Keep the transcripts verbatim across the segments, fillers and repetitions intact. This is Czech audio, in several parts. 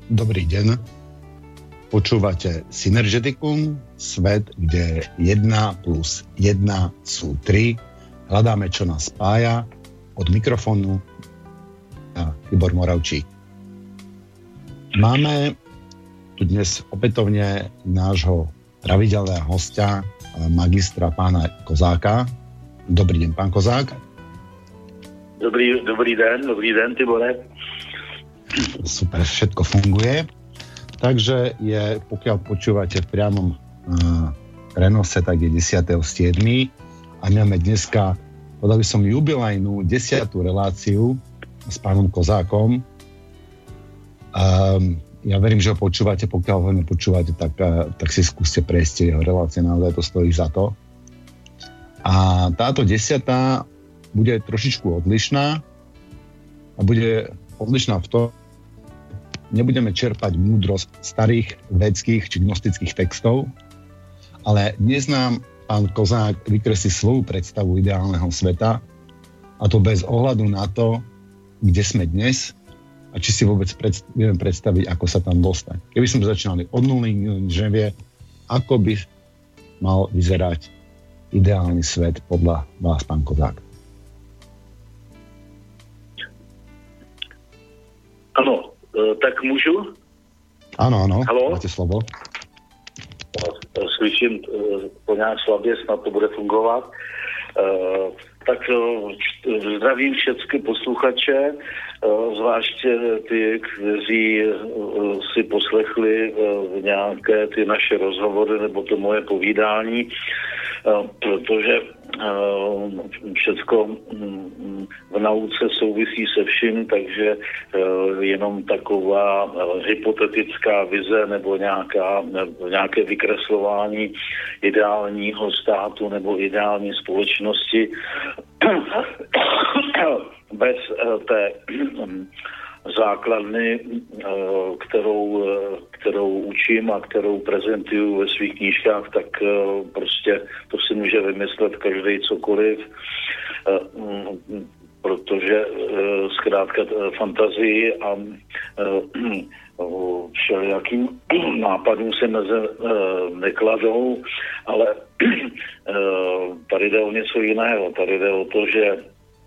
Dobrý deň. Počúvate Synergeticum, svet, kde jedna plus jedna sú tri. Hľadáme, čo nás spája. Od mikrofónu a Tibor Moravčík. Máme tu dnes opätovne nášho pravidelného hostia, magistra pána Kozáka. Dobrý deň, pán Kozák. Dobrý, dobrý den, dobrý den, Tibore. Super, všetko funguje. Takže je, pokiaľ počúvate v priamom uh, prenose, tak je desiateho siedmeho a máme dneska, podal by som, jubilejnú desiatú reláciu s pánom Kozákom. Um, ja verím, že ho počúvate, pokiaľ ho nepočúvate, tak, uh, tak si skúste prejsť jeho relácie, naozaj to stojí za to. A táto desiatá bude trošičku odlišná a bude odlišná v tom, nebudeme čerpať múdrosť starých védskych či gnostických textov, ale dnes nám pán Kozák vykreslí svoju predstavu ideálneho sveta, a to bez ohľadu na to, kde sme dnes a či si vôbec predst- vieme predstaviť, ako sa tam dostať. Keby sme začínali od nuly, že vie, ako by mal vyzerať ideálny svet podľa vás, pán Kozák. Ano, tak můžu? Ano, ano, Halo? máte slovo. Slyším po nějak slabě, snad to bude fungovat. Tak zdravím všechny posluchače, zvláště ty, kteří si poslechli nějaké ty naše rozhovory nebo to moje povídání, protože všecko v nauce souvisí se vším, takže jenom taková hypotetická vize nebo nějaká, nějaké vykreslování ideálního státu nebo ideální společnosti bez té základny, kterou, kterou učím a kterou prezentuju ve svých knížkách, tak prostě to si může vymyslet každý cokoliv, protože zkrátka fantazii a všelijakým nápadům se meze nekladou, ale tady jde o něco jiného. Tady jde o to, že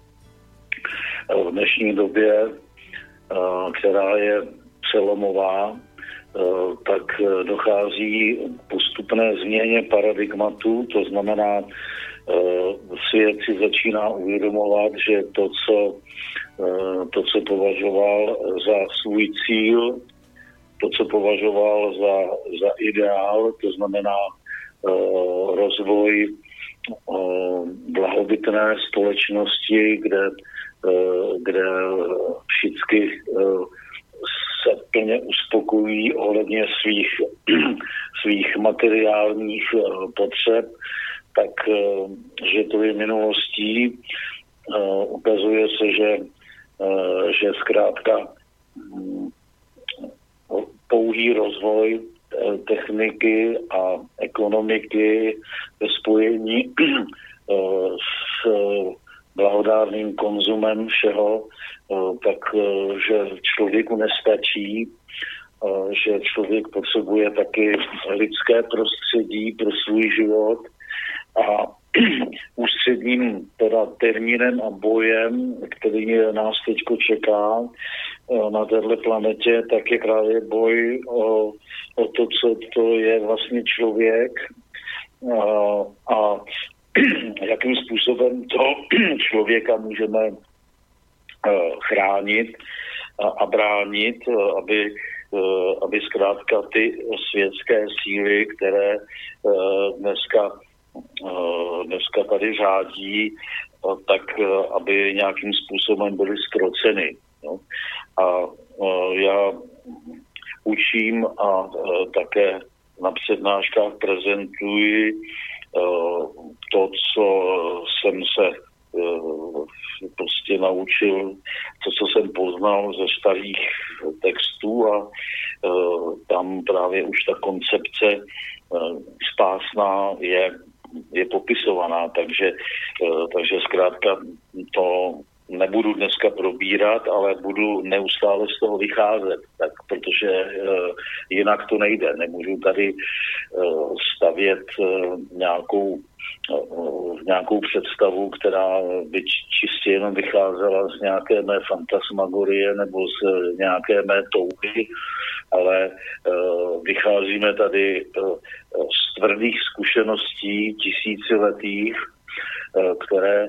v dnešní době, která je přelomová, tak dochází k postupné změně paradigmatu, to znamená, svět si začíná uvědomovat, že to, co, to, co považoval za svůj cíl, to, co považoval za, za ideál, to znamená rozvoj blahobytné společnosti, kde, kde všichni se plně uspokojí ohledně svých, svých materiálních potřeb, tak že to je minulostí. Ukazuje se, že, že zkrátka pouhý rozvoj techniky a ekonomiky ve spojení s blahodárným konzumem všeho, tak že člověku nestačí, že člověk potřebuje taky lidské prostředí pro svůj život a ústředním teda termínem a bojem, který nás teďko čeká na téhle planetě, tak je právě boj o, o to, co to je vlastně člověk a, a jakým způsobem to člověka můžeme chránit a, a bránit, aby, aby zkrátka ty světské síly, které dneska dneska tady řádí, tak aby nějakým způsobem byly zkroceny. No. A já učím a také na přednáškách prezentuji to, co jsem se prostě naučil, to, co jsem poznal ze starých textů a tam právě už ta koncepce spásná je je popisovaná, takže, takže zkrátka to nebudu dneska probírat, ale budu neustále z toho vycházet, tak, protože jinak to nejde. Nemůžu tady stavět nějakou, nějakou představu, která by čistě jenom vycházela z nějaké mé fantasmagorie nebo z nějaké mé touhy, ale vycházíme tady z tvrdých zkušeností tisíciletých, které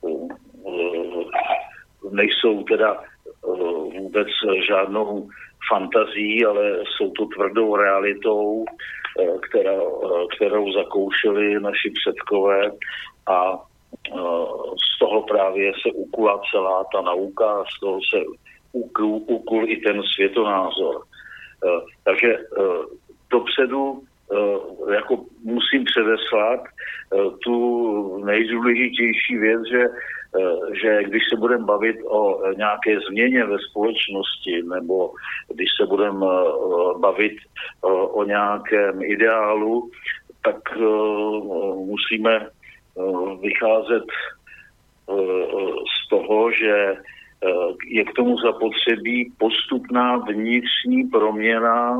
nejsou teda vůbec žádnou fantazí, ale jsou to tvrdou realitou, která, kterou zakoušeli naši předkové a z toho právě se ukula celá ta nauka, z toho se ukul, ukul i ten světonázor. Takže dopředu jako musím předeslat tu nejdůležitější věc, že, že když se budeme bavit o nějaké změně ve společnosti nebo když se budeme bavit o nějakém ideálu, tak musíme vycházet z toho, že je k tomu zapotřebí postupná vnitřní proměna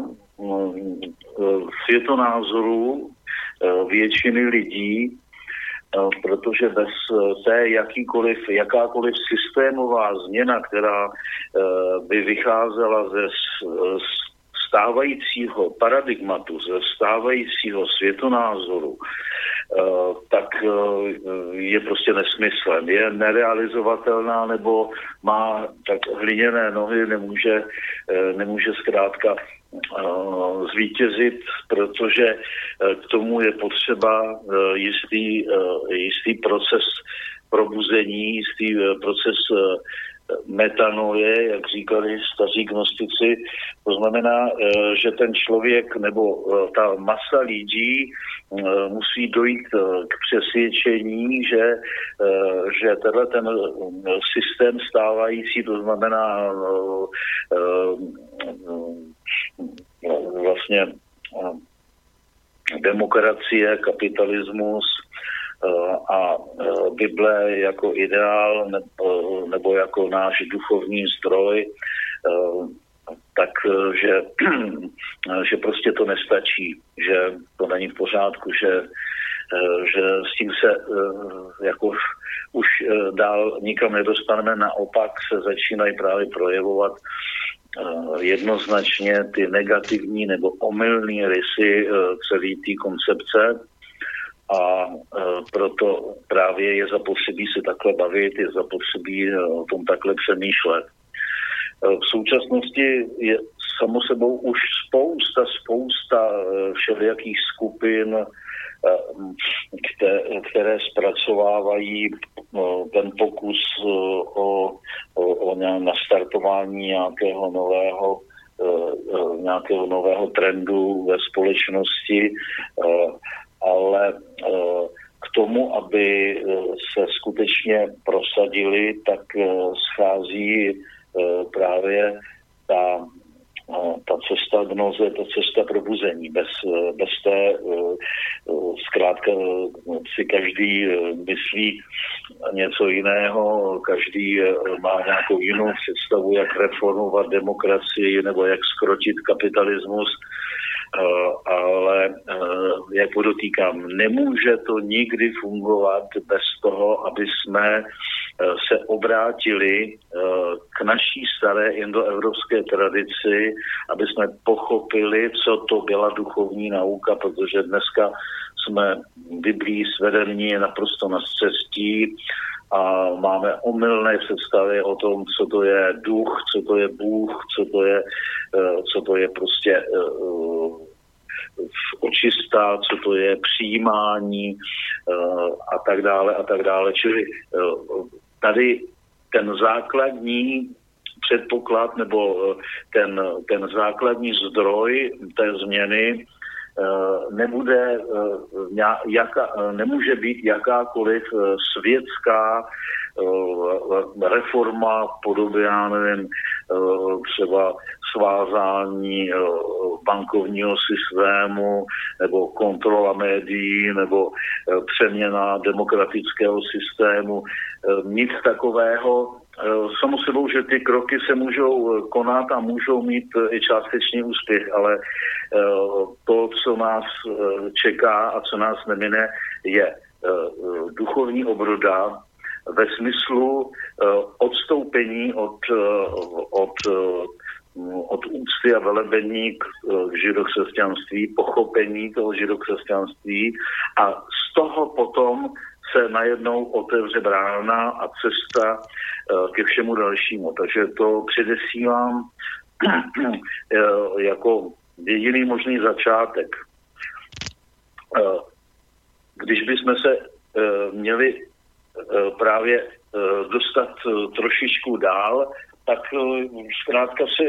světonázoru většiny lidí, protože bez té jakýkoliv, jakákoliv systémová změna, která by vycházela ze stávajícího paradigmatu, ze stávajícího světonázoru, tak je prostě nesmyslem. Je nerealizovatelná nebo má tak hliněné nohy, nemůže, nemůže zkrátka zvítězit, protože k tomu je potřeba jistý, jistý proces probuzení, jistý proces metanoje, jak říkali staří gnostici. To znamená, že ten člověk nebo ta masa lidí musí dojít k přesvědčení, že, že tenhle ten systém stávající, to znamená vlastně demokracie, kapitalismus a Bible jako ideál nebo jako náš duchovní zdroj, takže že prostě to nestačí, že to není v pořádku, že, že s tím se jako už dál nikam nedostaneme, naopak se začínají právě projevovat jednoznačně ty negativní nebo omylné rysy celé té koncepce. A e, proto právě je zapotřebí se takhle bavit, je zapotřebí o tom takhle přemýšlet. E, v současnosti je samo sebou už spousta, spousta e, všelijakých skupin, e, které, které zpracovávají e, ten pokus e, o, o, o nastartování nějakého nového, e, e, nějakého nového trendu ve společnosti, e, ale k tomu, aby se skutečně prosadili, tak schází právě ta, ta cesta gnoze, ta cesta probuzení. Bez, bez té zkrátka si každý myslí něco jiného, každý má nějakou jinou představu, jak reformovat demokracii nebo jak skrotit kapitalismus. Uh, ale uh, jak podotýkám, nemůže to nikdy fungovat bez toho, aby jsme uh, se obrátili uh, k naší staré indoevropské tradici, aby jsme pochopili, co to byla duchovní nauka, protože dneska jsme Biblí svedení naprosto na scestí a máme omylné představy o tom, co to je duch, co to je Bůh, co to je, co to je prostě očista, co to je přijímání a tak dále a tak dále. Čili tady ten základní předpoklad nebo ten, ten základní zdroj té změny nebude, jaka, nemůže být jakákoliv světská reforma v podobě, já nevím, třeba svázání bankovního systému nebo kontrola médií nebo přeměna demokratického systému. Nic takového samo sebou, že ty kroky se můžou konat a můžou mít i částečný úspěch, ale to, co nás čeká a co nás nemine, je duchovní obroda ve smyslu odstoupení od, od, od úcty a velebení k židokřesťanství, pochopení toho židokřesťanství a z toho potom se najednou otevře brána a cesta ke všemu dalšímu. Takže to předesílám jako jediný možný začátek. Když bychom se měli právě dostat trošičku dál, tak zkrátka se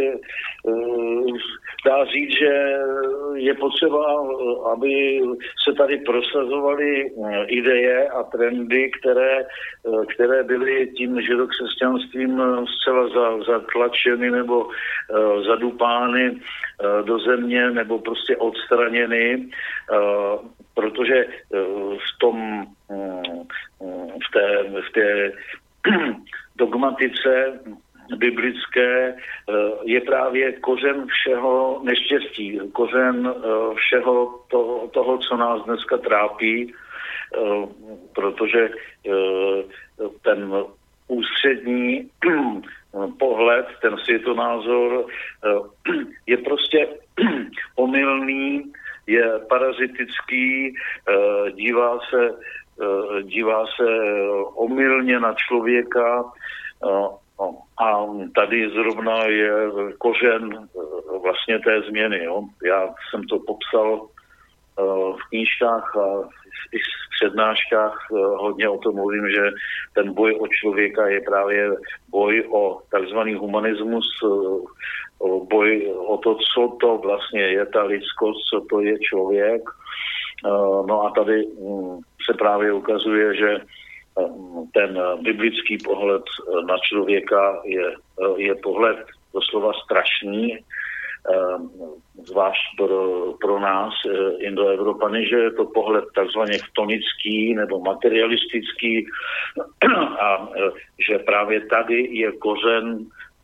dá říct, že je potřeba, aby se tady prosazovaly ideje a trendy, které, které byly tím židokřesťanstvím zcela zatlačeny nebo zadupány do země nebo prostě odstraněny, protože v tom v té, v té dogmatice biblické je právě kořen všeho neštěstí, kořen všeho toho, toho, co nás dneska trápí, protože ten ústřední pohled, ten světonázor je prostě omylný, je parazitický, dívá se, dívá se omylně na člověka. A tady zrovna je kořen vlastně té změny. Jo. Já jsem to popsal v knížkách a i v přednáškách hodně o tom mluvím, že ten boj o člověka je právě boj o takzvaný humanismus, boj o to, co to vlastně je ta lidskost, co to je člověk. No a tady se právě ukazuje, že ten biblický pohled na člověka je, je pohled doslova strašný, zvlášť pro, pro nás, Indoevropany, že je to pohled takzvaně chtonický nebo materialistický a že právě tady je kořen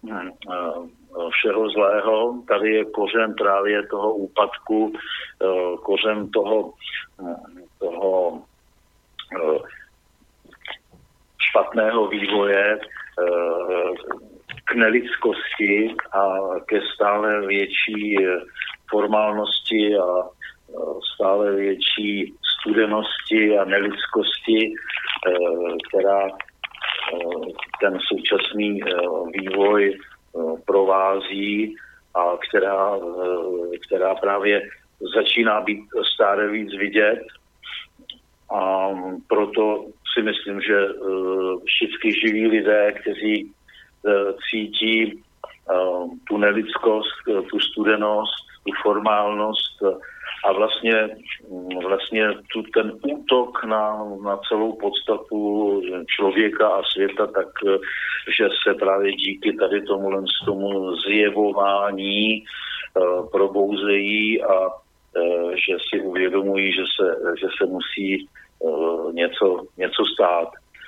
všeho zlého, tady je kořen právě toho úpadku, kořen toho, toho špatného vývoje k nelidskosti a ke stále větší formálnosti a stále větší studenosti a nelidskosti, která ten současný vývoj provází a která, která právě začíná být stále víc vidět. A proto si myslím, že všichni živí lidé, kteří cítí tu nelidskost, tu studenost, tu formálnost a vlastně, vlastně tu, ten útok na, na celou podstatu člověka a světa, tak že se právě díky tady tomu, tomu zjevování probouzejí a že si uvědomují, že se, že se musí něco, něco stát.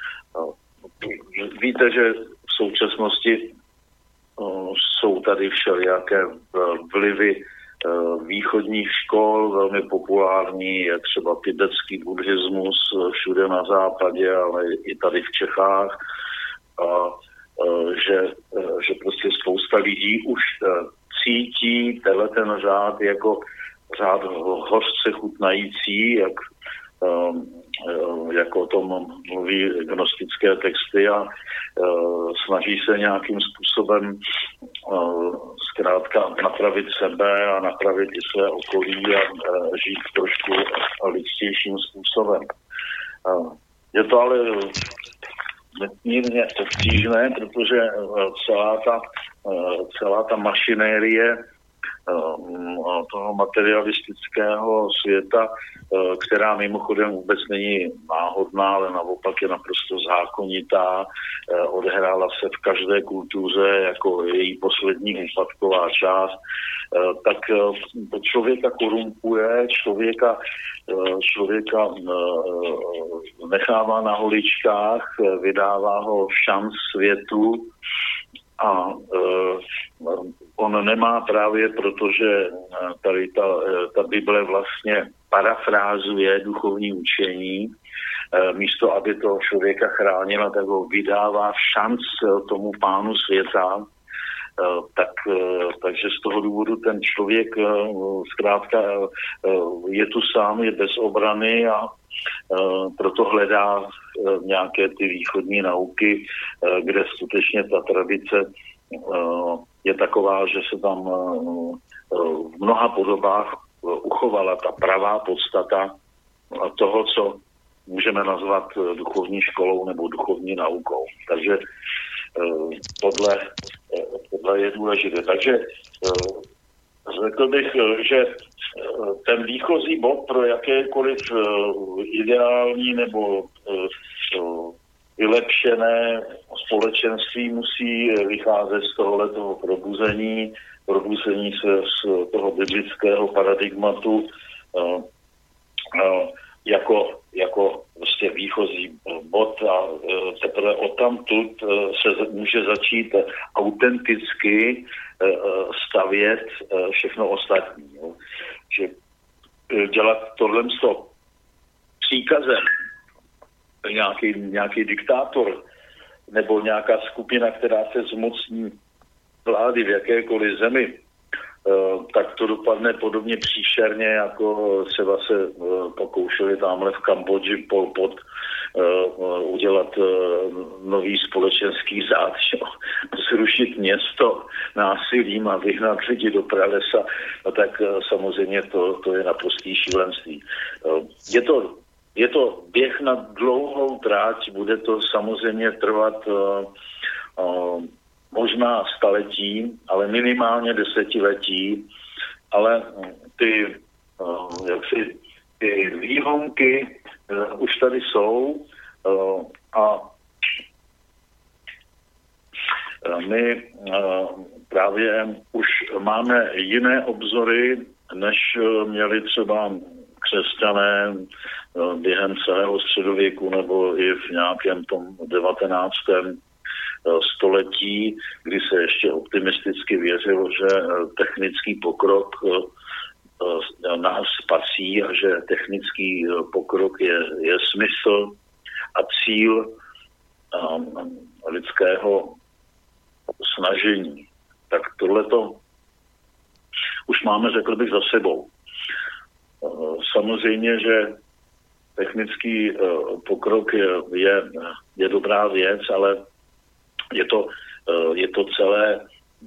Víte, že v současnosti jsou tady všelijaké vlivy východních škol, velmi populární, je třeba tibetský buddhismus všude na západě, ale i tady v Čechách. A že, že prostě spousta lidí už cítí tenhle ten řád jako řád hořce chutnající, jak, jak o tom mluví gnostické texty a snaží se nějakým způsobem zkrátka napravit sebe a napravit i své okolí a žít trošku lidstějším způsobem. Je to ale mírně obtížné, protože celá ta, celá ta mašinérie toho materialistického světa, která mimochodem vůbec není náhodná, ale naopak je naprosto zákonitá, odehrála se v každé kultuře jako její poslední úpadková část, tak člověka korumpuje, člověka, člověka nechává na holičkách, vydává ho v šanc světu a on nemá právě, protože tady ta, ta Bible vlastně parafrázuje duchovní učení, místo aby to člověka chránila, tak ho vydává v šanc tomu pánu světa, tak, takže z toho důvodu ten člověk zkrátka je tu sám, je bez obrany a proto hledá nějaké ty východní nauky, kde skutečně ta tradice je taková, že se tam v mnoha podobách uchovala ta pravá podstata toho, co můžeme nazvat duchovní školou nebo duchovní naukou. Takže tohle, tohle je důležité. Takže řekl bych, že ten výchozí bod pro jakékoliv ideální nebo vylepšené společenství musí vycházet z tohoto probuzení, probuzení se z toho biblického paradigmatu jako, jako prostě výchozí bod a teprve odtamtud se může začít autenticky stavět všechno ostatní. Že dělat tohle příkazem nějaký, nějaký diktátor nebo nějaká skupina, která se zmocní vlády v jakékoliv zemi, tak to dopadne podobně příšerně, jako třeba se pokoušeli tamhle v Kambodži Pol Pot udělat nový společenský zád, zrušit město násilím a vyhnat lidi do pralesa, no tak samozřejmě to, to je naprostý šílenství. Je to, je to běh na dlouhou tráť, bude to samozřejmě trvat možná staletí, ale minimálně desetiletí, ale ty, jaksi, ty výhonky už tady jsou a my právě už máme jiné obzory, než měli třeba křesťané během celého středověku nebo i v nějakém tom devatenáctém století, kdy se ještě optimisticky věřilo, že technický pokrok nás spasí a že technický pokrok je, je smysl a cíl um, lidského snažení. Tak tohleto už máme, řekl bych, za sebou. Samozřejmě, že technický pokrok je, je, je dobrá věc, ale je to, je to celé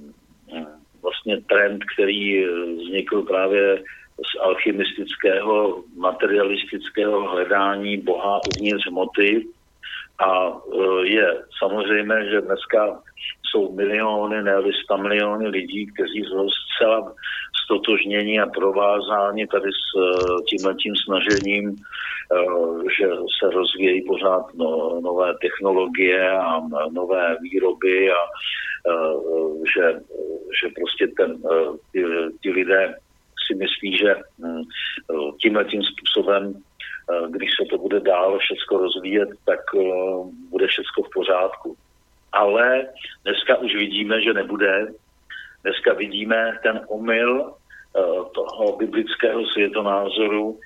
vlastně trend, který vznikl právě z alchymistického, materialistického hledání Boha uvnitř hmoty a je samozřejmé, že dneska jsou miliony, ne-li sta miliony lidí, kteří jsou zcela stotožnění a provázáni tady s tímhletím snažením, že se rozvíjejí pořád no, nové technologie a nové výroby a že, že prostě ten, ty, ty lidé si myslí, že tímhletím způsobem, když se to bude dál všecko rozvíjet, tak bude všecko v pořádku. Ale dneska už vidíme, že nebude. Dneska vidíme ten omyl toho biblického světonázoru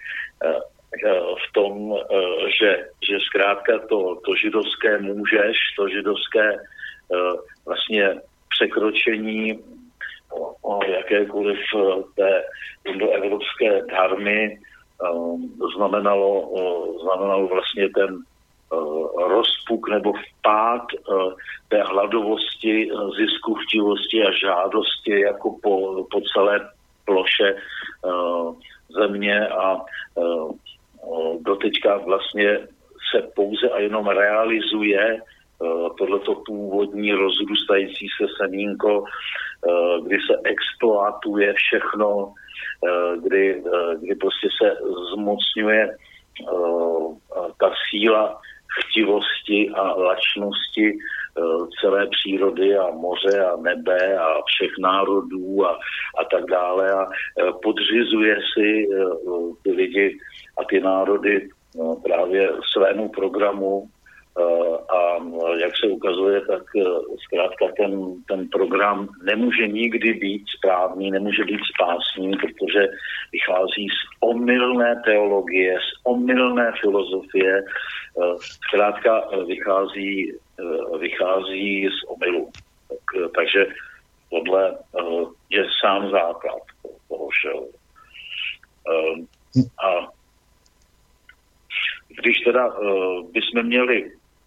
v tom, že, že zkrátka to, to židovské můžeš, to židovské vlastně překročení o, o jakékoliv té indoevropské dharmy znamenalo, znamenalo vlastně ten rozpuk nebo vpád té hladovosti, zisku, chtivosti a žádosti jako po, po celé ploše země a doteďka vlastně se pouze a jenom realizuje tohleto původní rozrůstající se semínko kdy se exploatuje všechno, kdy, kdy prostě se zmocňuje ta síla chtivosti a lačnosti celé přírody a moře a nebe a všech národů a, a tak dále a podřizuje si ty lidi a ty národy právě svému programu a jak se ukazuje, tak zkrátka ten, ten program nemůže nikdy být správný, nemůže být spásný, protože vychází z omylné teologie, z omylné filozofie, zkrátka vychází, vychází z omylu. Tak, takže tohle je sám základ toho všeho. A když teda bychom měli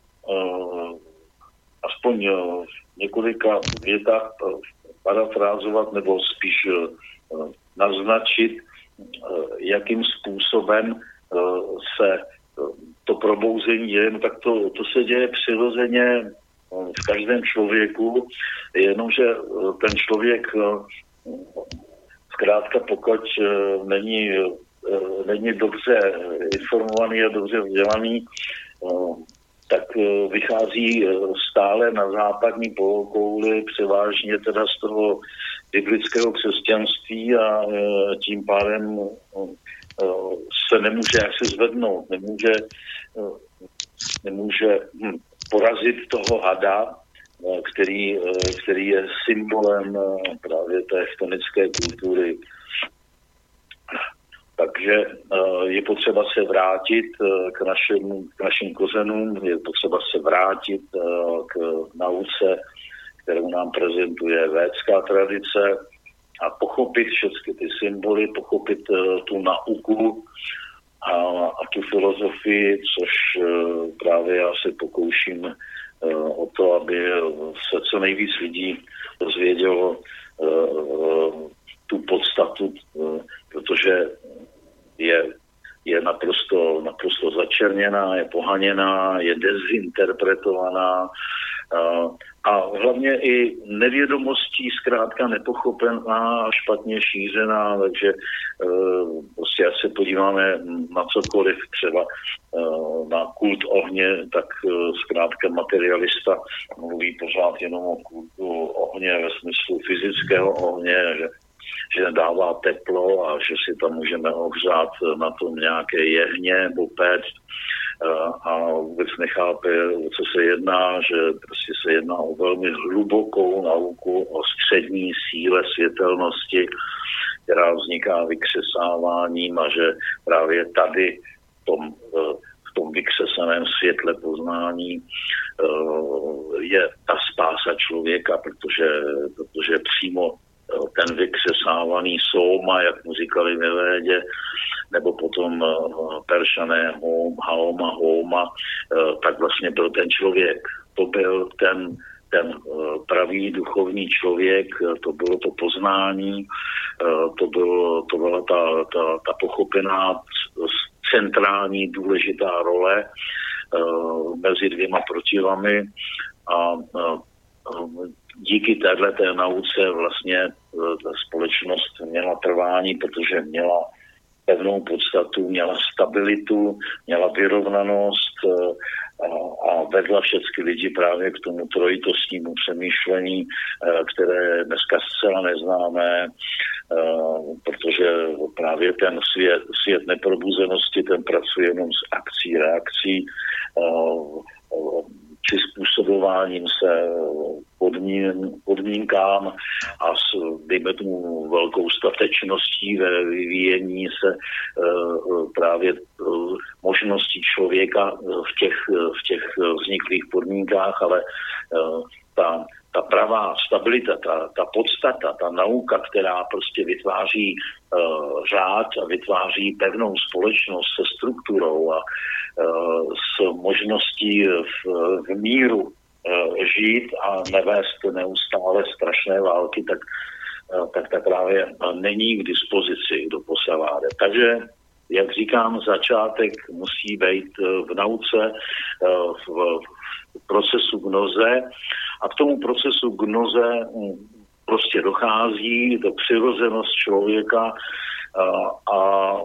aspoň v několika větách parafrázovat nebo spíš naznačit, jakým způsobem se to probouzení je, no tak to, to se děje přirozeně v každém člověku, jenomže ten člověk zkrátka pokud není, není dobře informovaný a dobře vzdělaný, tak vychází stále na západní polokouli, převážně teda z toho biblického křesťanství a tím pádem se nemůže jaksi zvednout, nemůže, nemůže porazit toho hada, který, který je symbolem právě té chtonické kultury. Takže je potřeba se vrátit k našim, k našim kořenům, je potřeba se vrátit k nauce, kterou nám prezentuje védská tradice a pochopit všechny ty symboly, pochopit tu nauku a, a tu filozofii, což právě já se pokouším o to, aby se co nejvíc lidí dozvědělo tu podstatu, protože je, je naprosto, naprosto začerněná, je pohaněná, je dezinterpretovaná a, a hlavně i nevědomostí zkrátka nepochopená a špatně šířená, takže prostě až se podíváme na cokoliv, třeba na kult ohně, tak zkrátka materialista mluví pořád jenom o kultu ohně ve smyslu fyzického ohně, že že dává teplo a že si tam můžeme ohřát na tom nějaké jehně nebo péct a vůbec nechápe, o co se jedná, že prostě se jedná o velmi hlubokou nauku o střední síle světelnosti, která vzniká vykřesáváním a že právě tady v tom, v tom vykřesaném světle poznání je ta spása člověka, protože, protože přímo ten vykřesávaný sóma, jak mu říkali ve Védě, nebo potom Peršané Haoma Homa, tak vlastně byl ten člověk. To byl ten, ten pravý duchovní člověk, to bylo to poznání, to, bylo, to byla ta, ta, ta pochopená centrální důležitá role mezi dvěma protivami a díky téhleté nauce vlastně ta společnost měla trvání, protože měla pevnou podstatu, měla stabilitu, měla vyrovnanost a, a vedla všechny lidi právě k tomu trojitostnímu přemýšlení, které dneska zcela neznáme, protože právě ten svět, svět neprobuzenosti, ten pracuje jenom s akcí, reakcí, přizpůsobováním se podmín, podmínkám a s, dejme tomu, velkou statečností ve vyvíjení se uh, právě uh, možností člověka v těch, v těch vzniklých podmínkách, ale uh, ta, ta pravá stabilita, ta, ta podstata, ta nauka, která prostě vytváří uh, řád a vytváří pevnou společnost se strukturou a uh, s možností v, v míru uh, žít a nevést neustále strašné války, tak, uh, tak, tak právě není k dispozici do posaváde. Takže, jak říkám, začátek musí být v nauce, v, v procesu gnoze a k tomu procesu gnoze prostě dochází, to přirozenost člověka a, a, a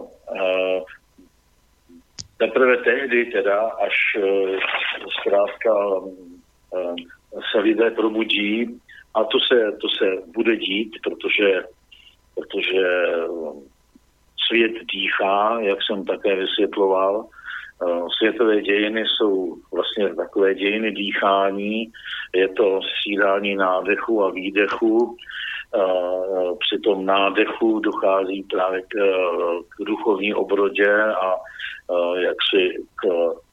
teprve tehdy teda, až zkrátka se lidé probudí, a to se, to se bude dít, protože, protože svět dýchá, jak jsem také vysvětloval. Světové dějiny jsou vlastně takové dějiny dýchání, je to střídání nádechu a výdechu. Při tom nádechu dochází právě k, k duchovní obrodě a jaksi k,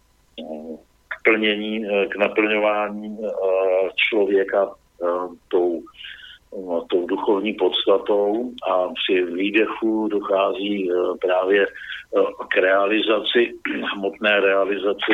k plnění, k naplňování člověka tou, tou duchovní podstatou a při výdechu dochází právě k realizaci, hmotné realizaci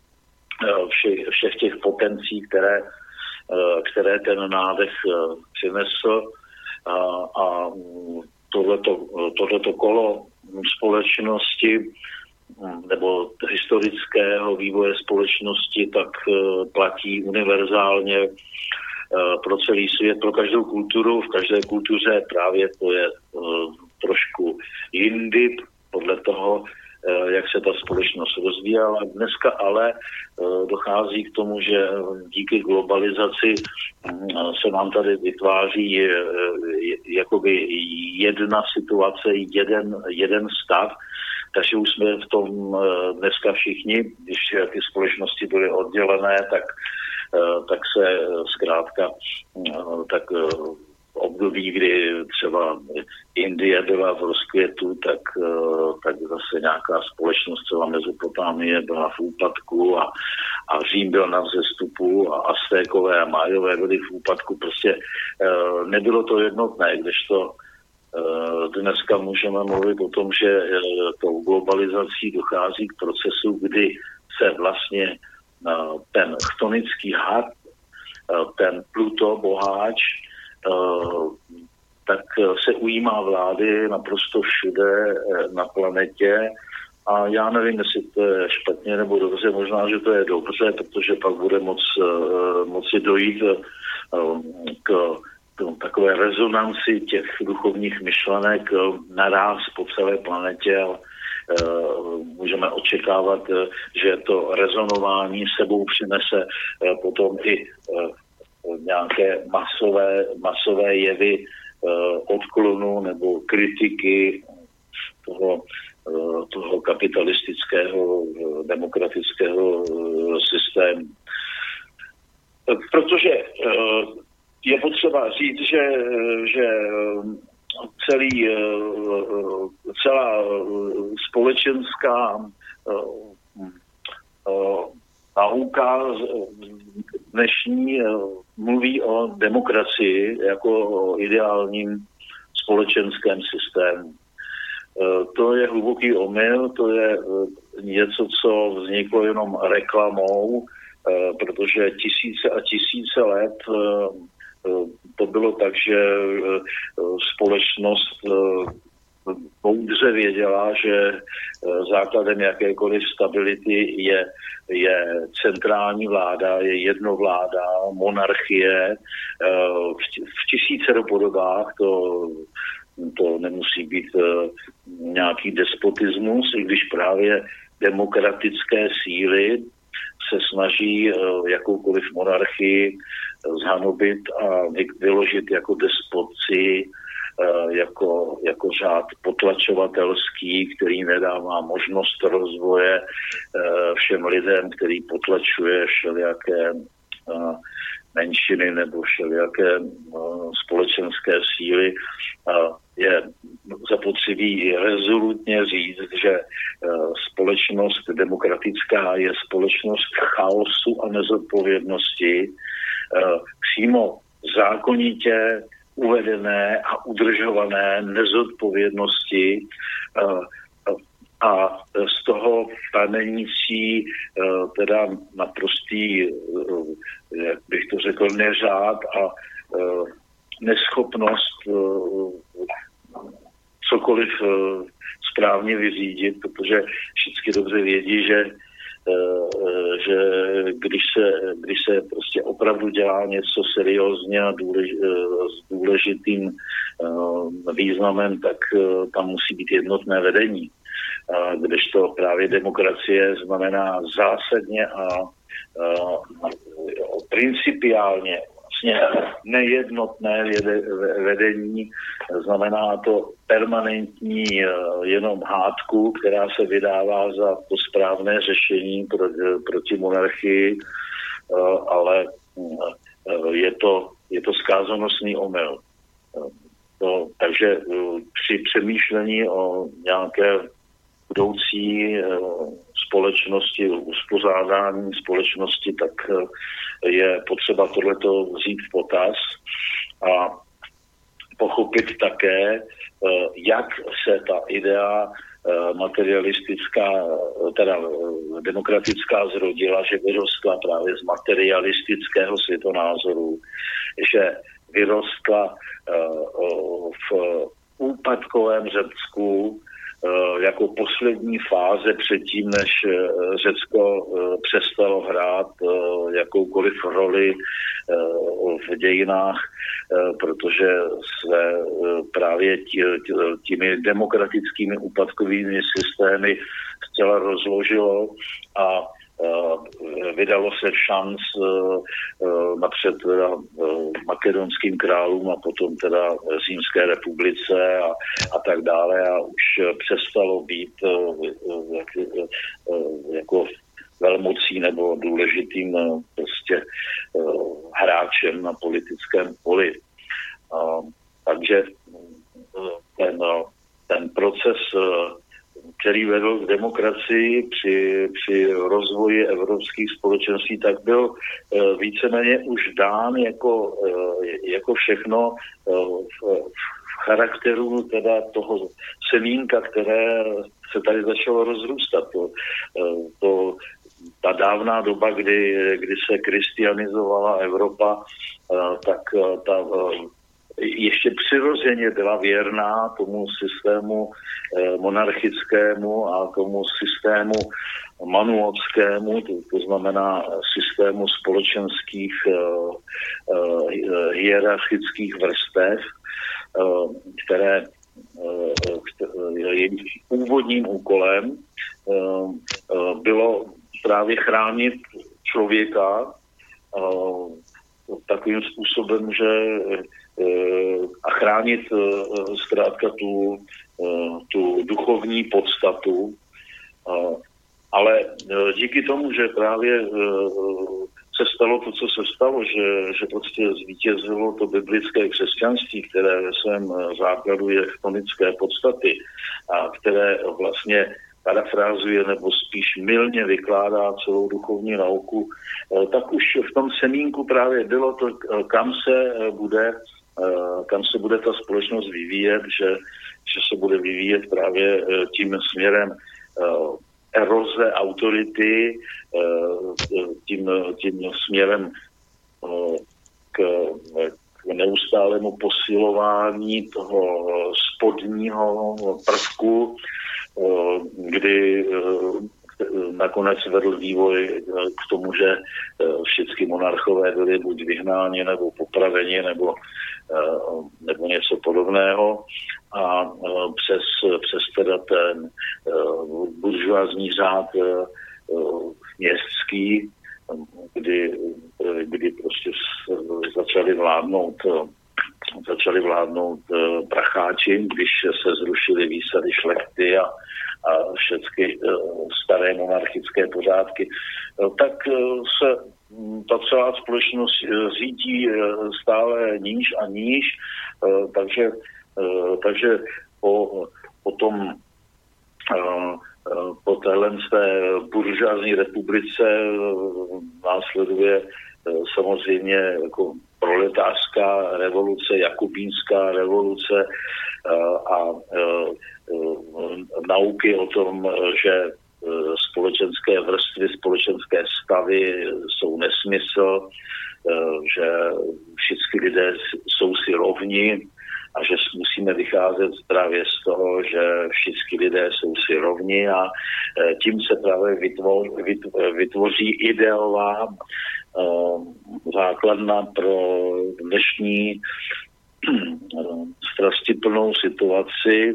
všech, všech těch potencí, které, které ten nádech přinesl. A, a tohleto, tohleto kolo společnosti nebo historického vývoje společnosti tak platí univerzálně pro celý svět, pro každou kulturu. V každé kultuře právě to je trošku jindy podle toho, jak se ta společnost rozvíjela. Dneska ale dochází k tomu, že díky globalizaci se nám tady vytváří jakoby jedna situace, jeden, jeden stav, takže už jsme v tom dneska všichni, když ty společnosti byly oddělené, tak, tak se zkrátka tak období, kdy třeba Indie byla v rozkvětu, tak, tak zase nějaká společnost, třeba Mezopotámie byla v úpadku a, a Řím byl na vzestupu a Aztékové a Májové byly v úpadku. Prostě nebylo to jednotné, kdežto dneska můžeme mluvit o tom, že tou globalizací dochází k procesu, kdy se vlastně ten chtonický had, ten Pluto, boháč, tak se ujímá vlády naprosto všude na planetě a já nevím, jestli to je špatně nebo dobře, možná, že to je dobře, protože pak bude moc, moci dojít k, k takové rezonanci těch duchovních myšlenek naráz po celé planetě. Můžeme očekávat, že to rezonování sebou přinese potom i nějaké masové, masové jevy odklonu nebo kritiky toho, toho kapitalistického demokratického systému. Protože je potřeba říct, že, že celý, celá společenská nauka dnešní mluví o demokracii jako o ideálním společenském systému. To je hluboký omyl, to je něco, co vzniklo jenom reklamou, protože tisíce a tisíce let to bylo tak, že společnost moudře věděla, že základem jakékoliv stability je, je centrální vláda, je jednovláda, monarchie v tisícero podobách. To, to nemusí být nějaký despotismus, i když právě demokratické síly se snaží jakoukoliv monarchii zhanobit a vyložit jako despotci, jako, jako řád potlačovatelský, který nedává možnost rozvoje všem lidem, který potlačuje všelijaké menšiny nebo všelijaké společenské síly. Je zapotřebí rezolutně říct, že společnost demokratická je společnost chaosu a nezodpovědnosti, přímo zákonitě uvedené a udržované nezodpovědnosti a z toho pramenící teda naprostý, jak bych to řekl, neřád a neschopnost cokoliv správně vyřídit, protože všichni dobře vědí, že že když se, když se prostě opravdu dělá něco seriózně a důlež, s důležitým významem, tak tam musí být jednotné vedení. Kdežto právě demokracie znamená zásadně a, a principiálně vlastně nejednotné vedení, znamená to permanentní jenom hádku, která se vydává za to správné řešení proti monarchii, ale je to, je to zkázonosný omyl. To, takže při přemýšlení o nějaké budoucí společnosti, uspořádání společnosti, tak je potřeba tohleto vzít v potaz a pochopit také, jak se ta idea materialistická, teda demokratická zrodila, že vyrostla právě z materialistického světonázoru, že vyrostla v úpadkovém Řecku jako poslední fáze předtím, než Řecko přestalo hrát jakoukoliv roli v dějinách, protože se právě těmi demokratickými úpadkovými systémy zcela rozložilo a vydalo se šanc napřed teda makedonským králům a potom teda Římské republice a, a tak dále a už přestalo být jak, jako velmocí nebo důležitým prostě hráčem na politickém poli. Takže ten, ten proces, který vedl k demokracii při, při rozvoji evropských společenství, tak byl víceméně už dán jako, jako všechno v, v charakteru teda toho semínka, které se tady začalo rozrůstat. To, to, ta dávná doba, kdy, kdy se křesťanizovala Evropa, tak ta ještě přirozeně byla věrná tomu systému monarchickému a tomu systému manuovskému, to, to znamená systému společenských hierarchických vrstev, které jejich úvodním úkolem bylo právě chránit člověka takovým způsobem, že a chránit zkrátka tu, tu duchovní podstatu. Ale díky tomu, že právě se stalo to, co se stalo, že, že prostě zvítězilo to biblické křesťanství, které ve svém základu je chtonické podstaty a které vlastně parafrázuje nebo spíš mylně vykládá celou duchovní nauku, tak už v tom semínku právě bylo to, kam se bude, kam se bude ta společnost vyvíjet, že, že se bude vyvíjet právě tím směrem eroze autority, tím, tím směrem k, k neustálému posilování toho spodního prvku, kdy nakonec vedl vývoj k tomu, že všichni monarchové byli buď vyhnáni, nebo popraveni, nebo, nebo něco podobného. A přes, přes teda ten buržoazní řád městský, kdy, kdy prostě začali vládnout začali vládnout pracháči, když se zrušily výsady šlechty a, a všechny staré monarchické pořádky, tak se ta celá společnost řídí stále níž a níž, takže, takže po, po tom po téhle buržoazní republice následuje samozřejmě jako proletářská revoluce, jakubínská revoluce a, a, a nauky o tom, že společenské vrstvy, společenské stavy jsou nesmysl, že všichni lidé jsou si rovni a že musí musíme vycházet právě z toho, že všichni lidé jsou si rovni a tím se právě vytvoří ideová základna pro dnešní strastiplnou situaci,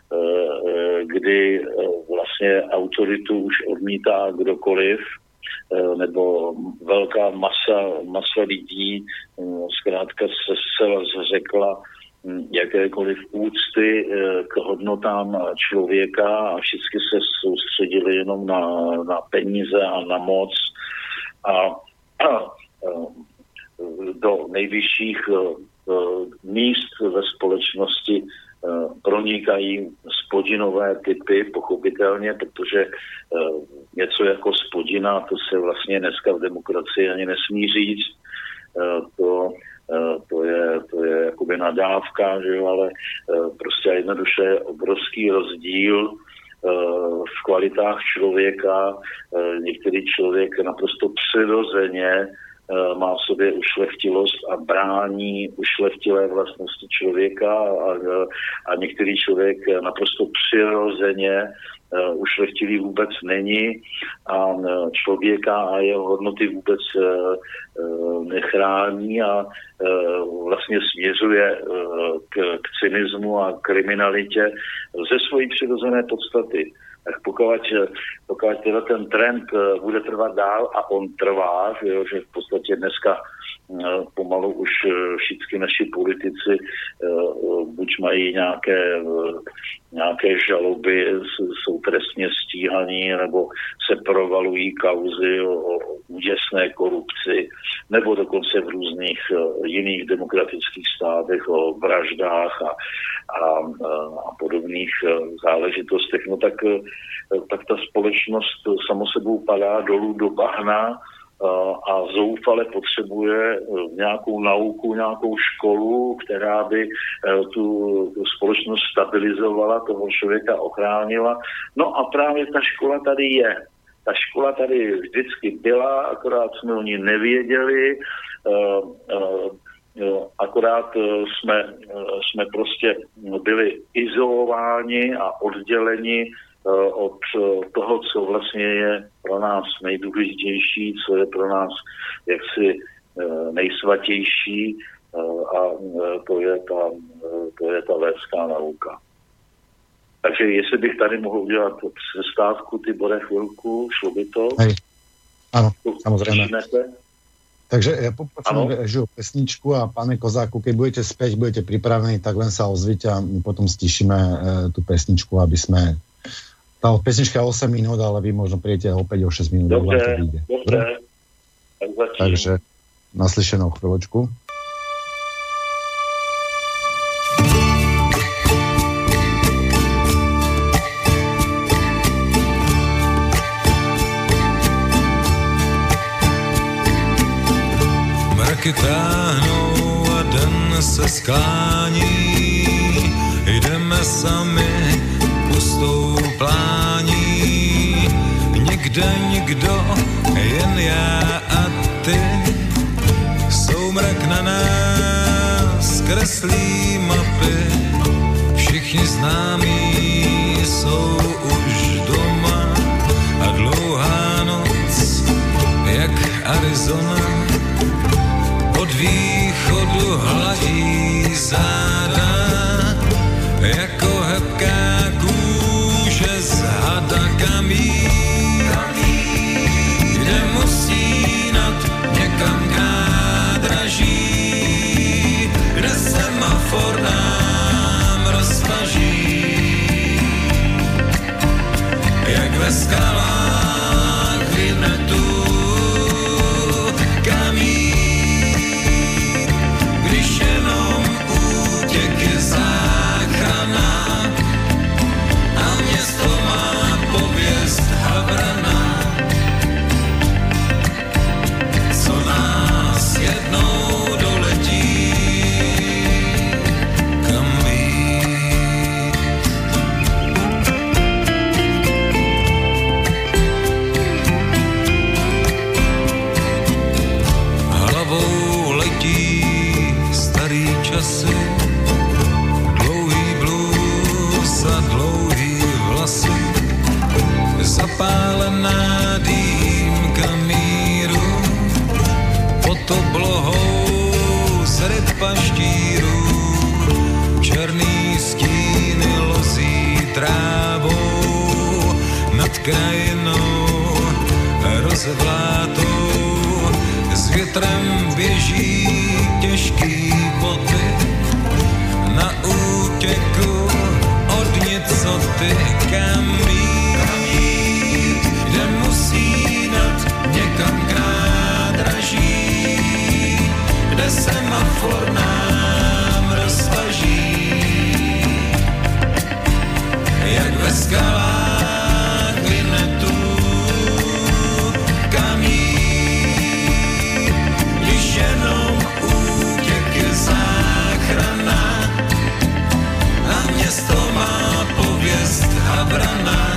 kdy vlastně autoritu už odmítá kdokoliv, nebo velká masa, masa lidí zkrátka se zcela zřekla jakékoliv úcty k hodnotám člověka a všichni se soustředili jenom na, na peníze a na moc a, a do nejvyšších míst ve společnosti pronikají spodinové typy, pochopitelně, protože něco jako spodina, to se vlastně dneska v demokracii ani nesmí říct, to, to, je, to je jakoby nadávka, že jo, ale prostě jednoduše je obrovský rozdíl v kvalitách člověka. Některý člověk naprosto přirozeně má v sobě ušlechtilost a brání ušlechtilé vlastnosti člověka a, a některý člověk naprosto přirozeně uh, ušlechtilý vůbec není a uh, člověka a jeho hodnoty vůbec uh, uh, nechrání a uh, vlastně směřuje uh, k, k cynismu a kriminalitě ze svojí přirozené podstaty. Tak pokud, pokud teda ten trend bude trvat dál a on trvá, že, jo, že v podstatě dneska pomalu už všichni naši politici buď mají nějaké, nějaké žaloby, jsou trestně stíhaní, nebo se provalují kauzy o, o úděsné korupci, nebo dokonce v různých jiných demokratických státech o vraždách a, a, a podobných záležitostech. No tak, tak ta společnost samo sebou padá dolů do bahna a zoufale potřebuje nějakou nauku, nějakou školu, která by tu, tu společnost stabilizovala, toho člověka ochránila. No a právě ta škola tady je. Ta škola tady vždycky byla, akorát jsme o ní nevěděli, akorát jsme, jsme prostě byli izolováni a odděleni od toho, co vlastně je pro nás nejdůležitější, co je pro nás jaksi nejsvatější a to je ta, to je ta védská nauka. Takže jestli bych tady mohl udělat přestávku, ty bude chvilku, šlo by to? Hej. Áno, samozrejme. Takže ja poprosím režiu pesničku a pane Kozáku, keď budete späť, budete pripravení, tak len sa ozvite a my potom stišíme e, tú pesničku, aby sme... Tá pesnička je osem minút, ale vy možno príjete opäť o šesť minút. Dobre, to vyjde. Dobre. Tak takže naslyšenou chvíľočku. Mraky táhnou a den se sklání, jdeme sami pustou plání, nikde nikdo, jen já a ty, soumrak na nás kreslí mapy, všichni známí jsou už doma a dlouhá noc, jak Arizona, od východu hladí záda, jako hebká kůže z hada kamín, kde musí nad někam nádraží, kde semafor nám rozpaží, jak ve skalách vyhne tu kamín. krajinou rozvlátou. S větrem běží těžký boty na útěku od nicoty. Kam jít, kde musí nad někam k nádraží, kde semafor nám roztaží, jak ve skalách Vinnetu. Kam jít, když jenom útěk je záchrana a město má pověst havrana,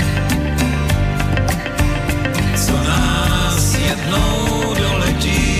co nás jednou doletí.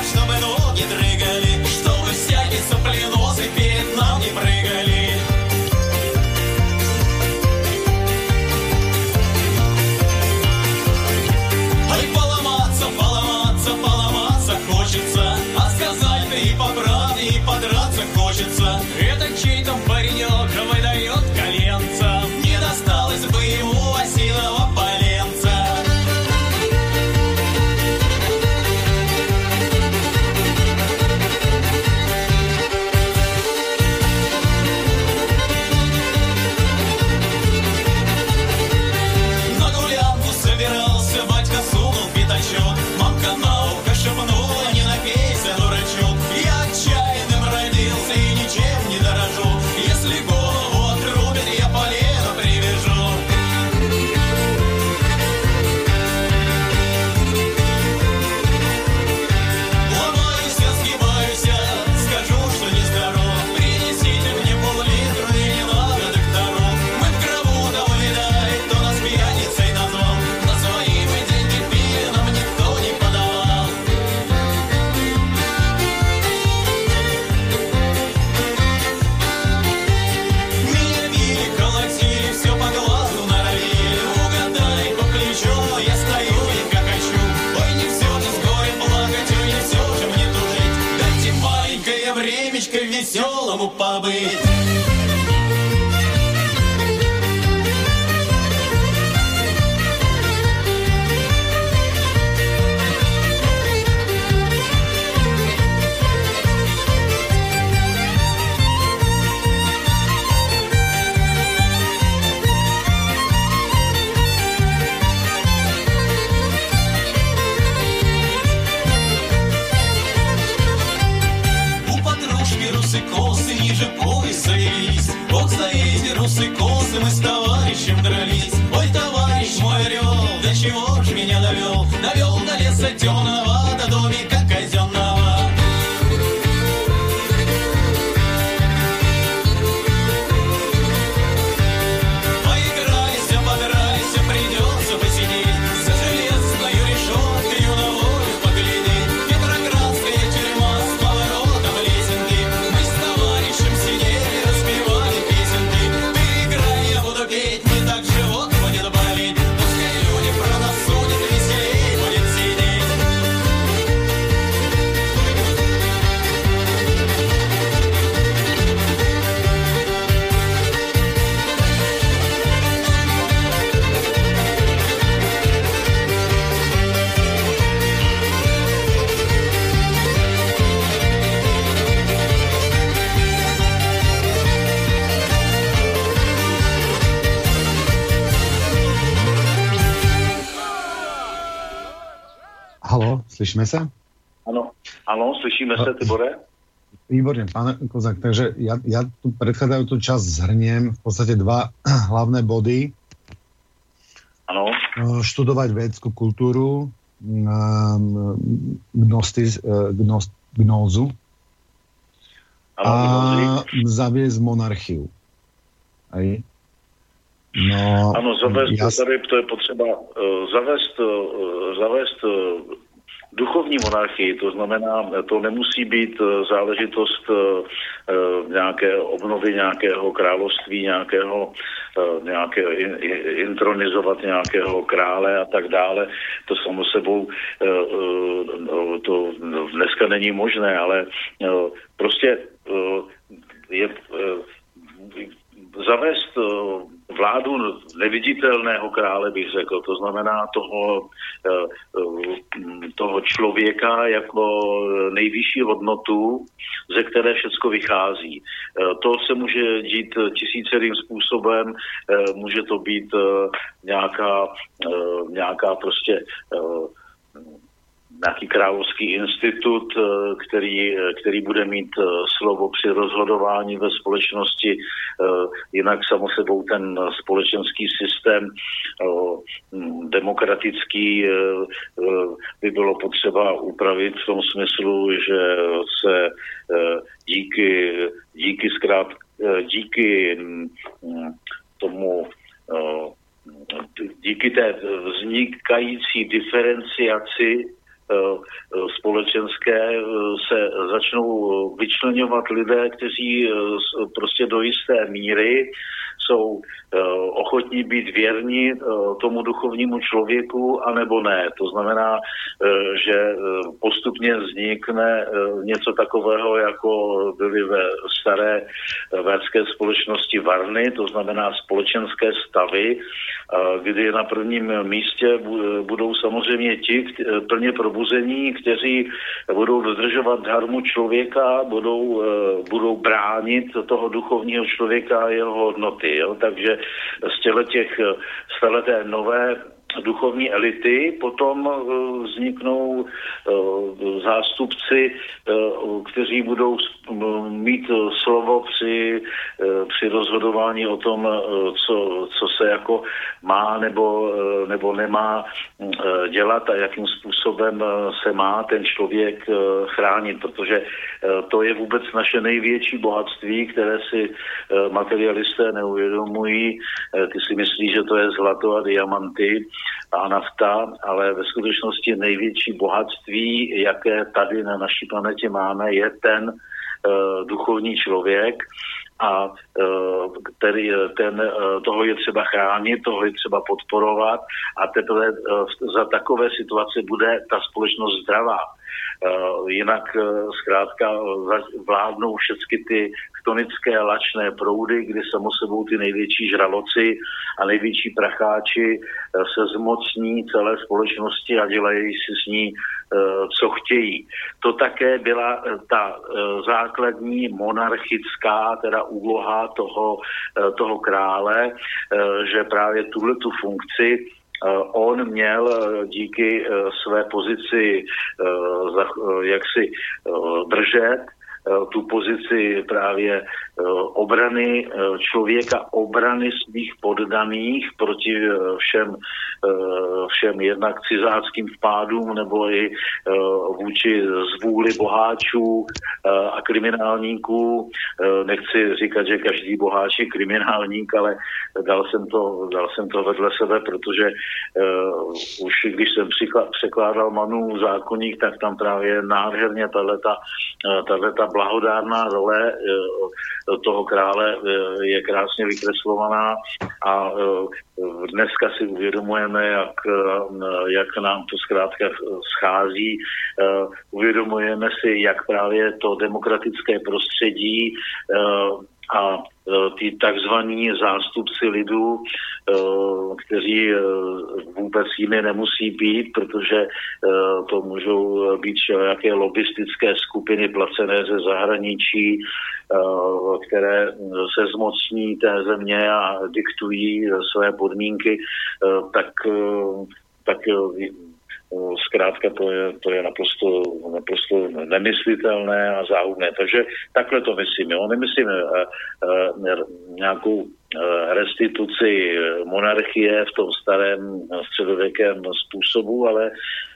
Чтобы всякие сопленосы перед нам не прыгали. веселому побыть. Ниже пояса велись, вот за эти русы косы мы с товарищем дрались. Ой, товарищ мой орел, до чего ж меня довел? Довел до леса темного, до домика казенного. Поиграйся, подрайся, придется посидеть за железной решеткой на волю поглядеть. Петроградская тюрьма с поворотом лесенки. Мы с товарищем сидели, распевали песенки. Ты играй, я буду петь, не так живот будет болеть. Пускай люди про нас судят, веселей будет сидеть. Haló, slyšíme sa? Áno, áno, slyšíme sa, Tibore? Výborne, pán Kozák, takže ja, ja tu predchádzajúcu časť zhrniem v podstate dva hlavné body. Áno. Študovať védskú kultúru, gnostiz, gnost, gnózu Áno, a gnózy. zaviesť monarchiu. Aj? No, Ano, zavést, jas... tady to je potřeba uh, zavést, uh, zavést uh, duchovní monarchii, to znamená, to nemusí být uh, záležitost uh, uh, nějaké obnovy nějakého království, nějakého, uh, nějaké in, in, intronizovat nějakého krále a tak dále. To samo sebou uh, uh, to dneska není možné, ale uh, prostě uh, je uh, zavést uh, vládu neviditelného krále, bych řekl. To znamená toho, toho člověka jako nejvyšší hodnotu, ze které všecko vychází. To se může dít tisícerým způsobem, může to být nějaká, nějaká prostě nějaký královský institut, který, který bude mít slovo při rozhodování ve společnosti, jinak samo sebou ten společenský systém demokratický by bylo potřeba upravit v tom smyslu, že se díky, díky zkrát, díky tomu díky té vznikající diferenciaci společenské se začnou vyčleňovat lidé, kteří prostě do jisté míry jsou ochotní být věrní tomu duchovnímu člověku, anebo ne. To znamená, že postupně vznikne něco takového, jako byly ve staré védské společnosti varny, to znamená společenské stavy, kdy na prvním místě budou samozřejmě ti plně probuzení, kteří budou dodržovat dharmu člověka, budou, budou bránit toho duchovního člověka a jeho hodnoty. Jo? Takže z těch staleté nové duchovní elity, potom vzniknou zástupci, kteří budou mít slovo při, při rozhodování o tom, co, co se jako má nebo, nebo nemá dělat a jakým způsobem se má ten člověk chránit, protože to je vůbec naše největší bohatství, které si materialisté neuvědomují. Ty si myslí, že to je zlato a diamanty a nafta, ale ve skutečnosti největší bohatství, jaké tady na naší planetě máme, je ten uh, duchovní člověk a uh, tedy, ten, uh, toho je třeba chránit, toho je třeba podporovat a teprve uh, za takové situace bude ta společnost zdravá. Jinak zkrátka vládnou všechny ty chtonické lačné proudy, kdy samo sebou ty největší žraloci a největší pracháči se zmocní celé společnosti a dělají si s ní, co chtějí. To také byla ta základní monarchická teda úloha toho, toho krále, že právě tuhletu funkci on měl díky své pozici jaksi držet, tu pozici právě obrany člověka, obrany svých poddaných proti všem, všem jednak cizáckým vpádům nebo i vůči zvůli boháčů a kriminálníků. Nechci říkat, že každý boháč je kriminálník, ale dal jsem to, dal jsem to vedle sebe, protože už když jsem překládal Manův zákoník, tak tam právě nádherně tahleta, tahleta blahodárná role toho krále je krásně vykreslovaná a dneska si uvědomujeme, jak, jak nám to zkrátka schází. Uvědomujeme si, jak právě to demokratické prostředí a ty takzvaní zástupci lidu, kteří vůbec jimi nemusí být, protože to můžou být všelijaké lobistické skupiny placené ze zahraničí, které se zmocní té země a diktují své podmínky, tak, tak zkrátka to je, to je naprosto, naprosto nemyslitelné a záhubné. Takže takhle to myslím. Jo? Nemyslím nějakou restituci monarchie v tom starém středověkém způsobu, ale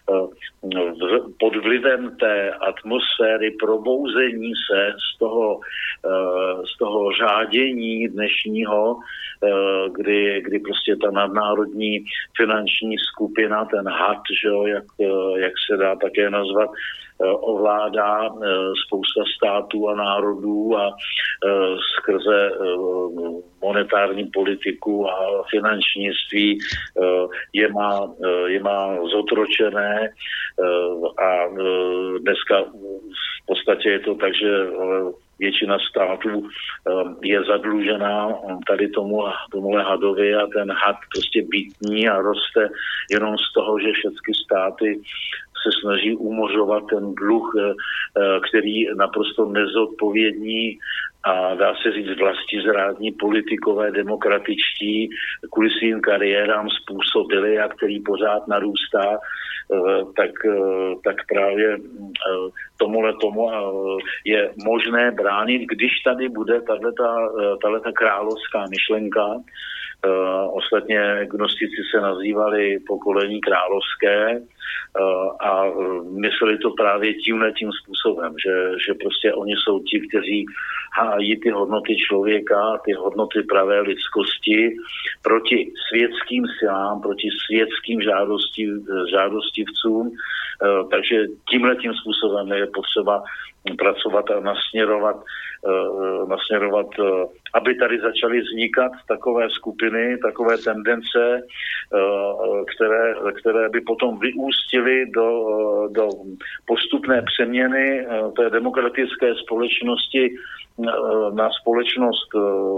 pod vlivem té atmosféry probouzení se z toho, z toho řádění dnešního, kdy, kdy prostě ta nadnárodní finanční skupina, ten had, že jo, jak, jak se dá také nazvat, ovládá spousta států a národů a skrze monetární politiku a finančnictví je má, je má zotročené a dneska v podstatě je to tak, že většina států je zadlužená tady tomu, tomuhle hadovi a ten had prostě bytní a roste jenom z toho, že všechny státy se snaží umořovat ten dluh, který naprosto nezodpovědní a dá se říct vlastizrádní politikové demokratičtí kvůli svým kariérám způsobili a který pořád narůstá, tak, tak právě tomuhle tomu je možné bránit, když tady bude tato královská myšlenka. Uh, ostatně gnostici se nazývali pokolení královské uh, a uh, mysleli to právě tímhle tím způsobem, že, že prostě oni jsou ti, kteří hájí ty hodnoty člověka, ty hodnoty pravé lidskosti proti světským silám, proti světským žádostiv, žádostivcům. Uh, takže tímhle tím způsobem je potřeba pracovat a nasměrovat, uh, nasměrovat uh, aby tady začaly vznikat takové skupiny, takové tendence, které, které by potom vyústily do, do postupné přeměny té demokratické společnosti na společnost,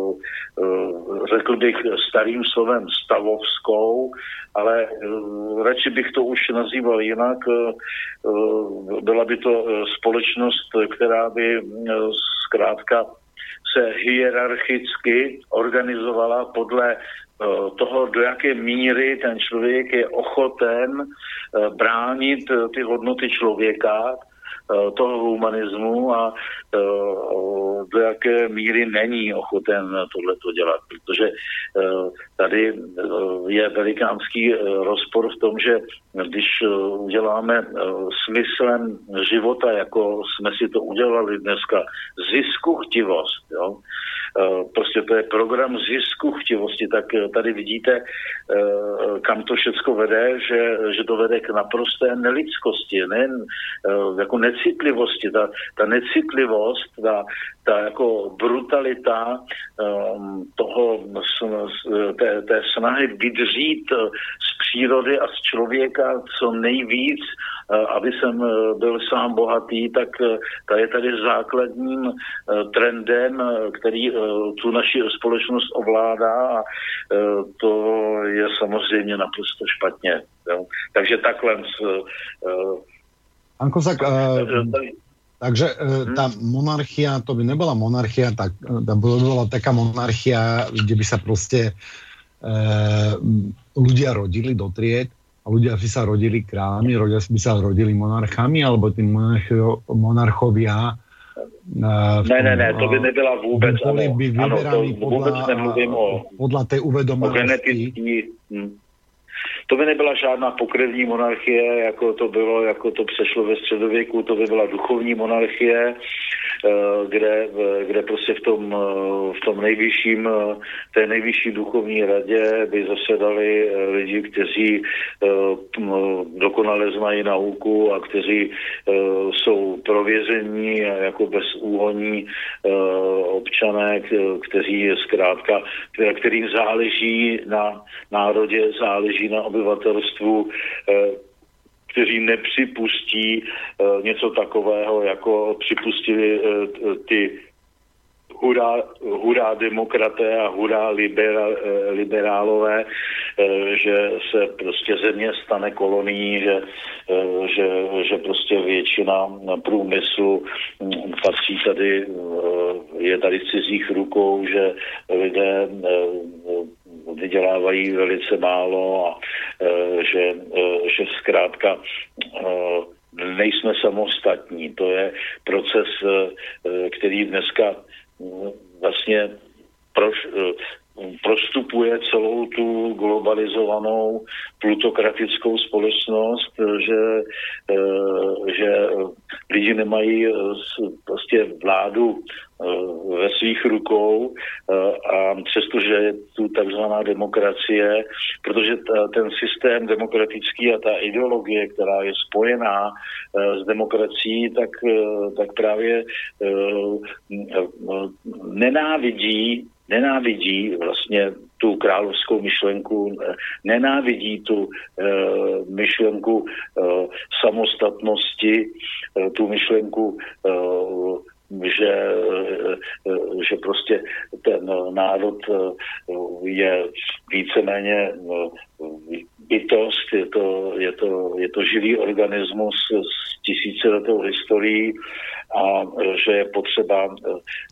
řekl bych starým slovem stavovskou, ale radši bych to už nazýval jinak. Byla by to společnost, která by zkrátka se hierarchicky organizovala podle toho, do jaké míry ten člověk je ochoten bránit ty hodnoty člověka, toho humanismu a do jaké míry není ochoten tohleto dělat. Protože tady je velikánský rozpor v tom, že když uděláme smyslem života, jako jsme si to udělali dneska, ziskuchtivost, jo, prostě to je program zisku chtivosti, tak tady vidíte, kam to všecko vede, že, že to vede k naprosté nelidskosti, ne, jako necitlivosti. Ta, ta necitlivost, ta, ta jako brutalita toho, té, té snahy vydřít z přírody a z člověka co nejvíc, aby jsem byl sám bohatý, tak ta je tady základním trendem, který tu naši společnost ovládá a to je samozřejmě naprosto špatně. Jo. Takže takhle. Pán Kozák, takže tá monarchia, to by nebola monarchia, tak to by bola taká monarchia, kde by sa proste ľudia rodili do tried a ľudia by sa rodili kráľmi, ľudia by sa rodili monarchami, alebo tí monarcho, monarchovia uh, ne, ne, ne, to by nebyla vůbec, by boli by vyberali ano, vůbec nemluvím o, podľa tej uvedomelosti. Hm. To by nebyla žádná pokrevní monarchie, jako to bylo, jako to přešlo ve středověku, to by byla duchovní monarchie, kde, kde prostě v tom, v tom nejvyšším, té nejvyšší duchovní radě by zasedali lidi, kteří dokonale znají nauku a kteří jsou prověření jako bezúhonní občané, kteří zkrátka, kterým záleží na národě, záleží na obyvatelstvu, kteří nepřipustí něco takového, jako připustili ty hurá, hurá demokraté a hurá libera, liberálové, že se prostě země stane kolonií, že, že, že prostě většina průmyslu patří tady, je tady v cizích rukou, že lidé vydělávají velice málo a e, že, e, že zkrátka e, nejsme samostatní. To je proces, e, který dneska e, vlastně proš, e, prostupuje celou tu globalizovanou plutokratickou společnost, že, e, že lidi nemají prostě vládu ve svých rukou a přestože je tu takzvaná demokracie, protože ta, ten systém demokratický a ta ideologie, která je spojená s demokracií, tak, tak právě nenávidí nenávidí vlastně tu královskou myšlenku, nenávidí tu e, myšlenku e, samostatnosti, e, tu myšlenku, e, že, e, že prostě ten národ e, je víceméně e, bytost, je to, je to, je to živý organismus s tisíciletou historií a že je potřeba e,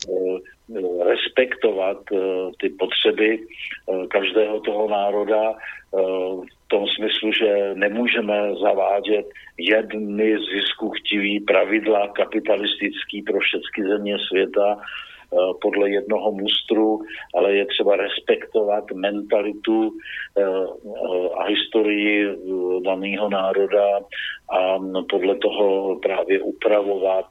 respektovat ty potřeby každého toho národa v tom smyslu, že nemůžeme zavádět jedny ziskuchtivý pravidla kapitalistický pro všechny země světa podle jednoho mustru, ale je třeba respektovat mentalitu a historii daného národa a podle toho právě upravovat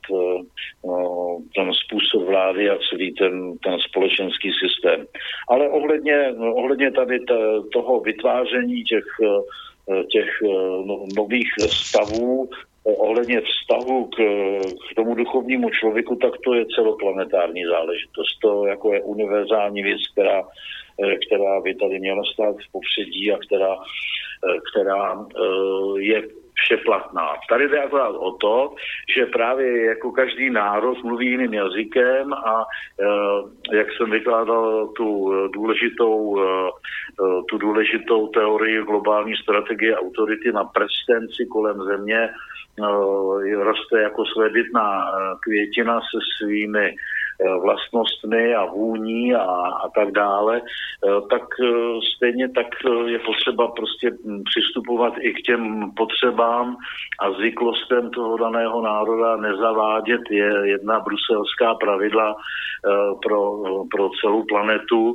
ten způsob vlády a celý ten, ten společenský systém. Ale ohledně, ohledně tady toho vytváření těch, těch nových stavů, ohledně vztahu k, k tomu duchovnímu člověku, tak to je celoplanetární záležitost. To jako je univerzální věc, která, která by tady měla stát v popředí a která, která je všeplatná. Tady jde akorát o to, že právě jako každý národ mluví jiným jazykem a jak jsem vykládal tu důležitou, tu důležitou teorii globální strategie autority na prstenci kolem země, roste jako svébytná květina se svými vlastnostmi a vůní a, a tak dále, tak stejně tak je potřeba prostě přistupovat i k těm potřebám a zvyklostem toho daného národa, nezavádět je jedna bruselská pravidla pro, pro celou planetu,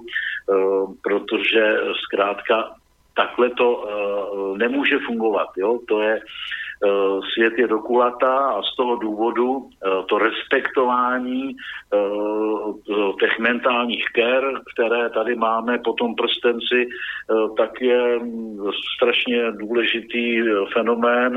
protože zkrátka takhle to nemůže fungovat. Jo? To je svět je dokulatá a z toho důvodu to respektování těch mentálních ker, které tady máme po tom prstenci, tak je strašně důležitý fenomén,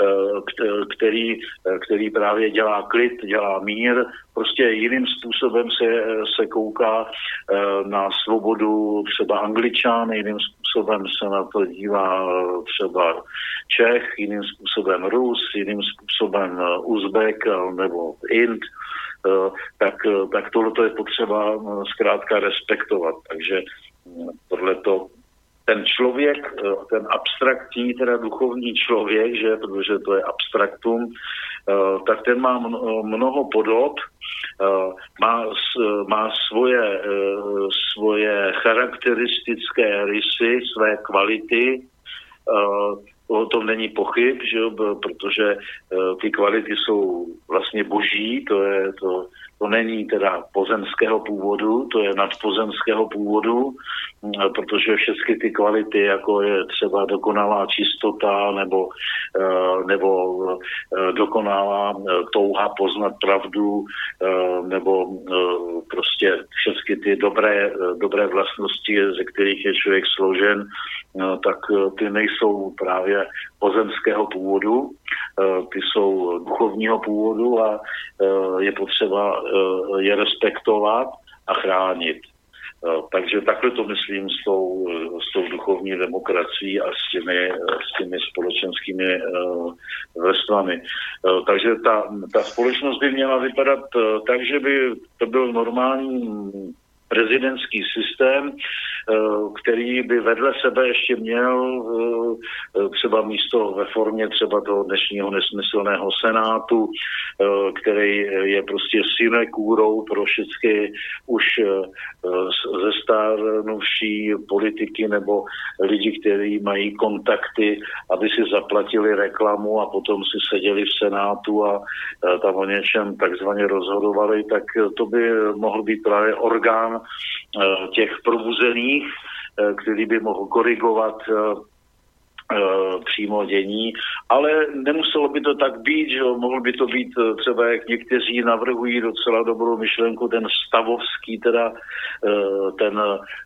který, který právě dělá klid, dělá mír, prostě jiným způsobem se, se kouká na svobodu třeba Angličan, jiným způsobem se na to dívá třeba Čech, jiným způsobem Rus, jiným způsobem Uzbek nebo Ind, tak, tak tohle je potřeba zkrátka respektovat. Takže tohleto ten člověk, ten abstraktní, teda duchovní člověk, že, protože to je abstraktum, tak ten má mnoho podob, má, má svoje, svoje charakteristické rysy, své kvality, o tom není pochyb, že, protože ty kvality jsou vlastně boží, to je to, to není teda pozemského původu, to je nadpozemského původu, protože všechny ty kvality, jako je třeba dokonalá čistota nebo, nebo dokonalá touha poznat pravdu nebo prostě všechny ty dobré, dobré vlastnosti, ze kterých je člověk složen, tak ty nejsou právě pozemského původu, ty jsou duchovního původu a je potřeba je respektovat a chránit. Takže takhle to myslím s tou, s tou duchovní demokracií a s těmi, s těmi společenskými vrstvami. Takže ta, ta společnost by měla vypadat tak, že by to byl normální prezidentský systém, který by vedle sebe ještě měl třeba místo ve formě třeba toho dnešního nesmyslného senátu, který je prostě sinekúrou pro všechny už zestárnuvší politiky nebo lidi, kteří mají kontakty, aby si zaplatili reklamu a potom si seděli v senátu a tam o něčem takzvaně rozhodovali, tak to by mohl být právě orgán těch probuzených, který by mohl korigovat přímo dění, ale nemuselo by to tak být, že mohl by to být třeba, jak někteří navrhují docela dobrou myšlenku, ten stavovský, teda ten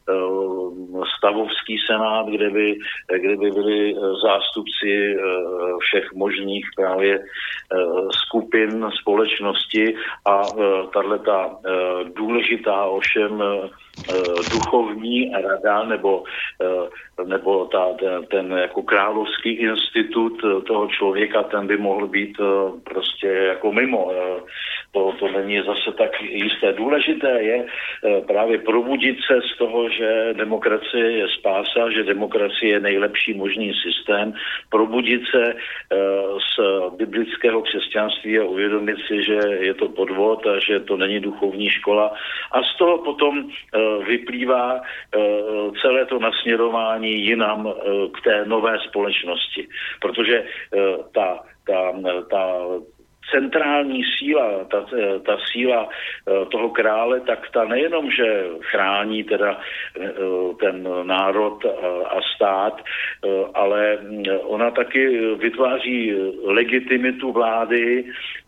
stavovský senát, kde by, kde by byli zástupci všech možných právě skupin společnosti a tahleta důležitá ovšem duchovní rada nebo, nebo ta, ten, ten jako královský institut toho člověka, ten by mohl být prostě jako mimo. To, to není zase tak jisté. Důležité je právě probudit se z toho, že demokracie je spása, že demokracie je nejlepší možný systém, probudit se z biblického křesťanství a uvědomit si, že je to podvod a že to není duchovní škola. A z toho potom vyplývá celé to nasměrování jinam k té nové společnosti. Protože ta, ta, ta centrální síla, ta, ta síla toho krále, tak ta nejenom, že chrání teda ten národ a stát, ale ona taky vytváří legitimitu vlády,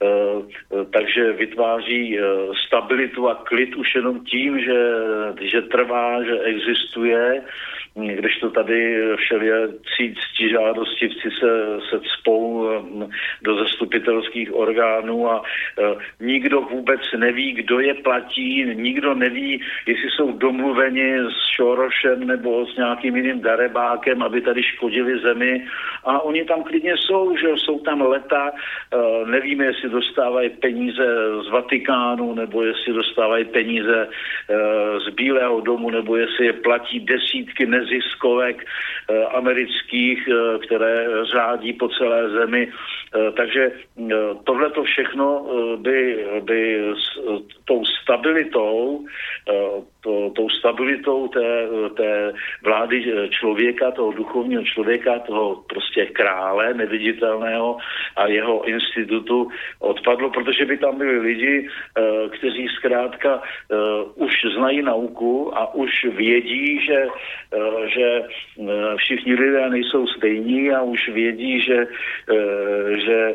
takže vytváří stabilitu a klid už jenom tím, že, že trvá, že existuje, když to tady všelijací ctižádostivci se, se cpou do zastupitelských orgánů a e, nikdo vůbec neví, kdo je platí, nikdo neví, jestli jsou domluveni s Šorošem nebo s nějakým jiným darebákem, aby tady škodili zemi a oni tam klidně jsou, že jsou tam leta, e, nevíme, jestli dostávají peníze z Vatikánu nebo jestli dostávají peníze e, z Bílého domu nebo jestli je platí desítky nez ziskovek eh, amerických, eh, které řádí po celé zemi. Eh, takže eh, tohleto všechno eh, by, by s eh, tou stabilitou, to, tou stabilitou té, té vlády člověka, toho duchovního člověka, toho prostě krále neviditelného a jeho institutu odpadlo, protože by tam byli lidi, kteří zkrátka už znají nauku a už vědí, že, že všichni lidé nejsou stejní a už vědí, že, že,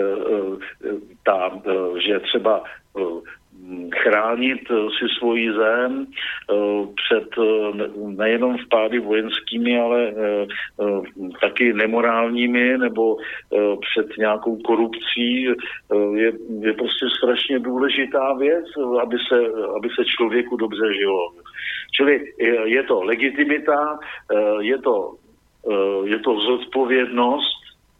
ta, že třeba chránit si svoji zem před nejenom vpády vojenskými, ale taky nemorálními nebo před nějakou korupcí je, je prostě strašně důležitá věc, aby se, aby se člověku dobře žilo. Čili je to legitimita, je to, je to zodpovědnost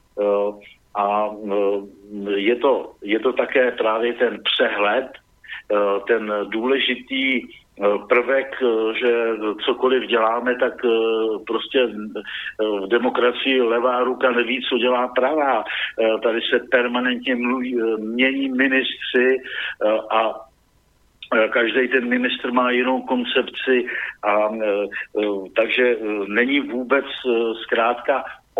a je to, je to také právě ten přehled, ten důležitý prvek, že cokoliv děláme, tak prostě v demokracii levá ruka neví, co dělá pravá. Tady se permanentně mluví, mění ministři a každý ten ministr má jinou koncepci a takže není vůbec zkrátka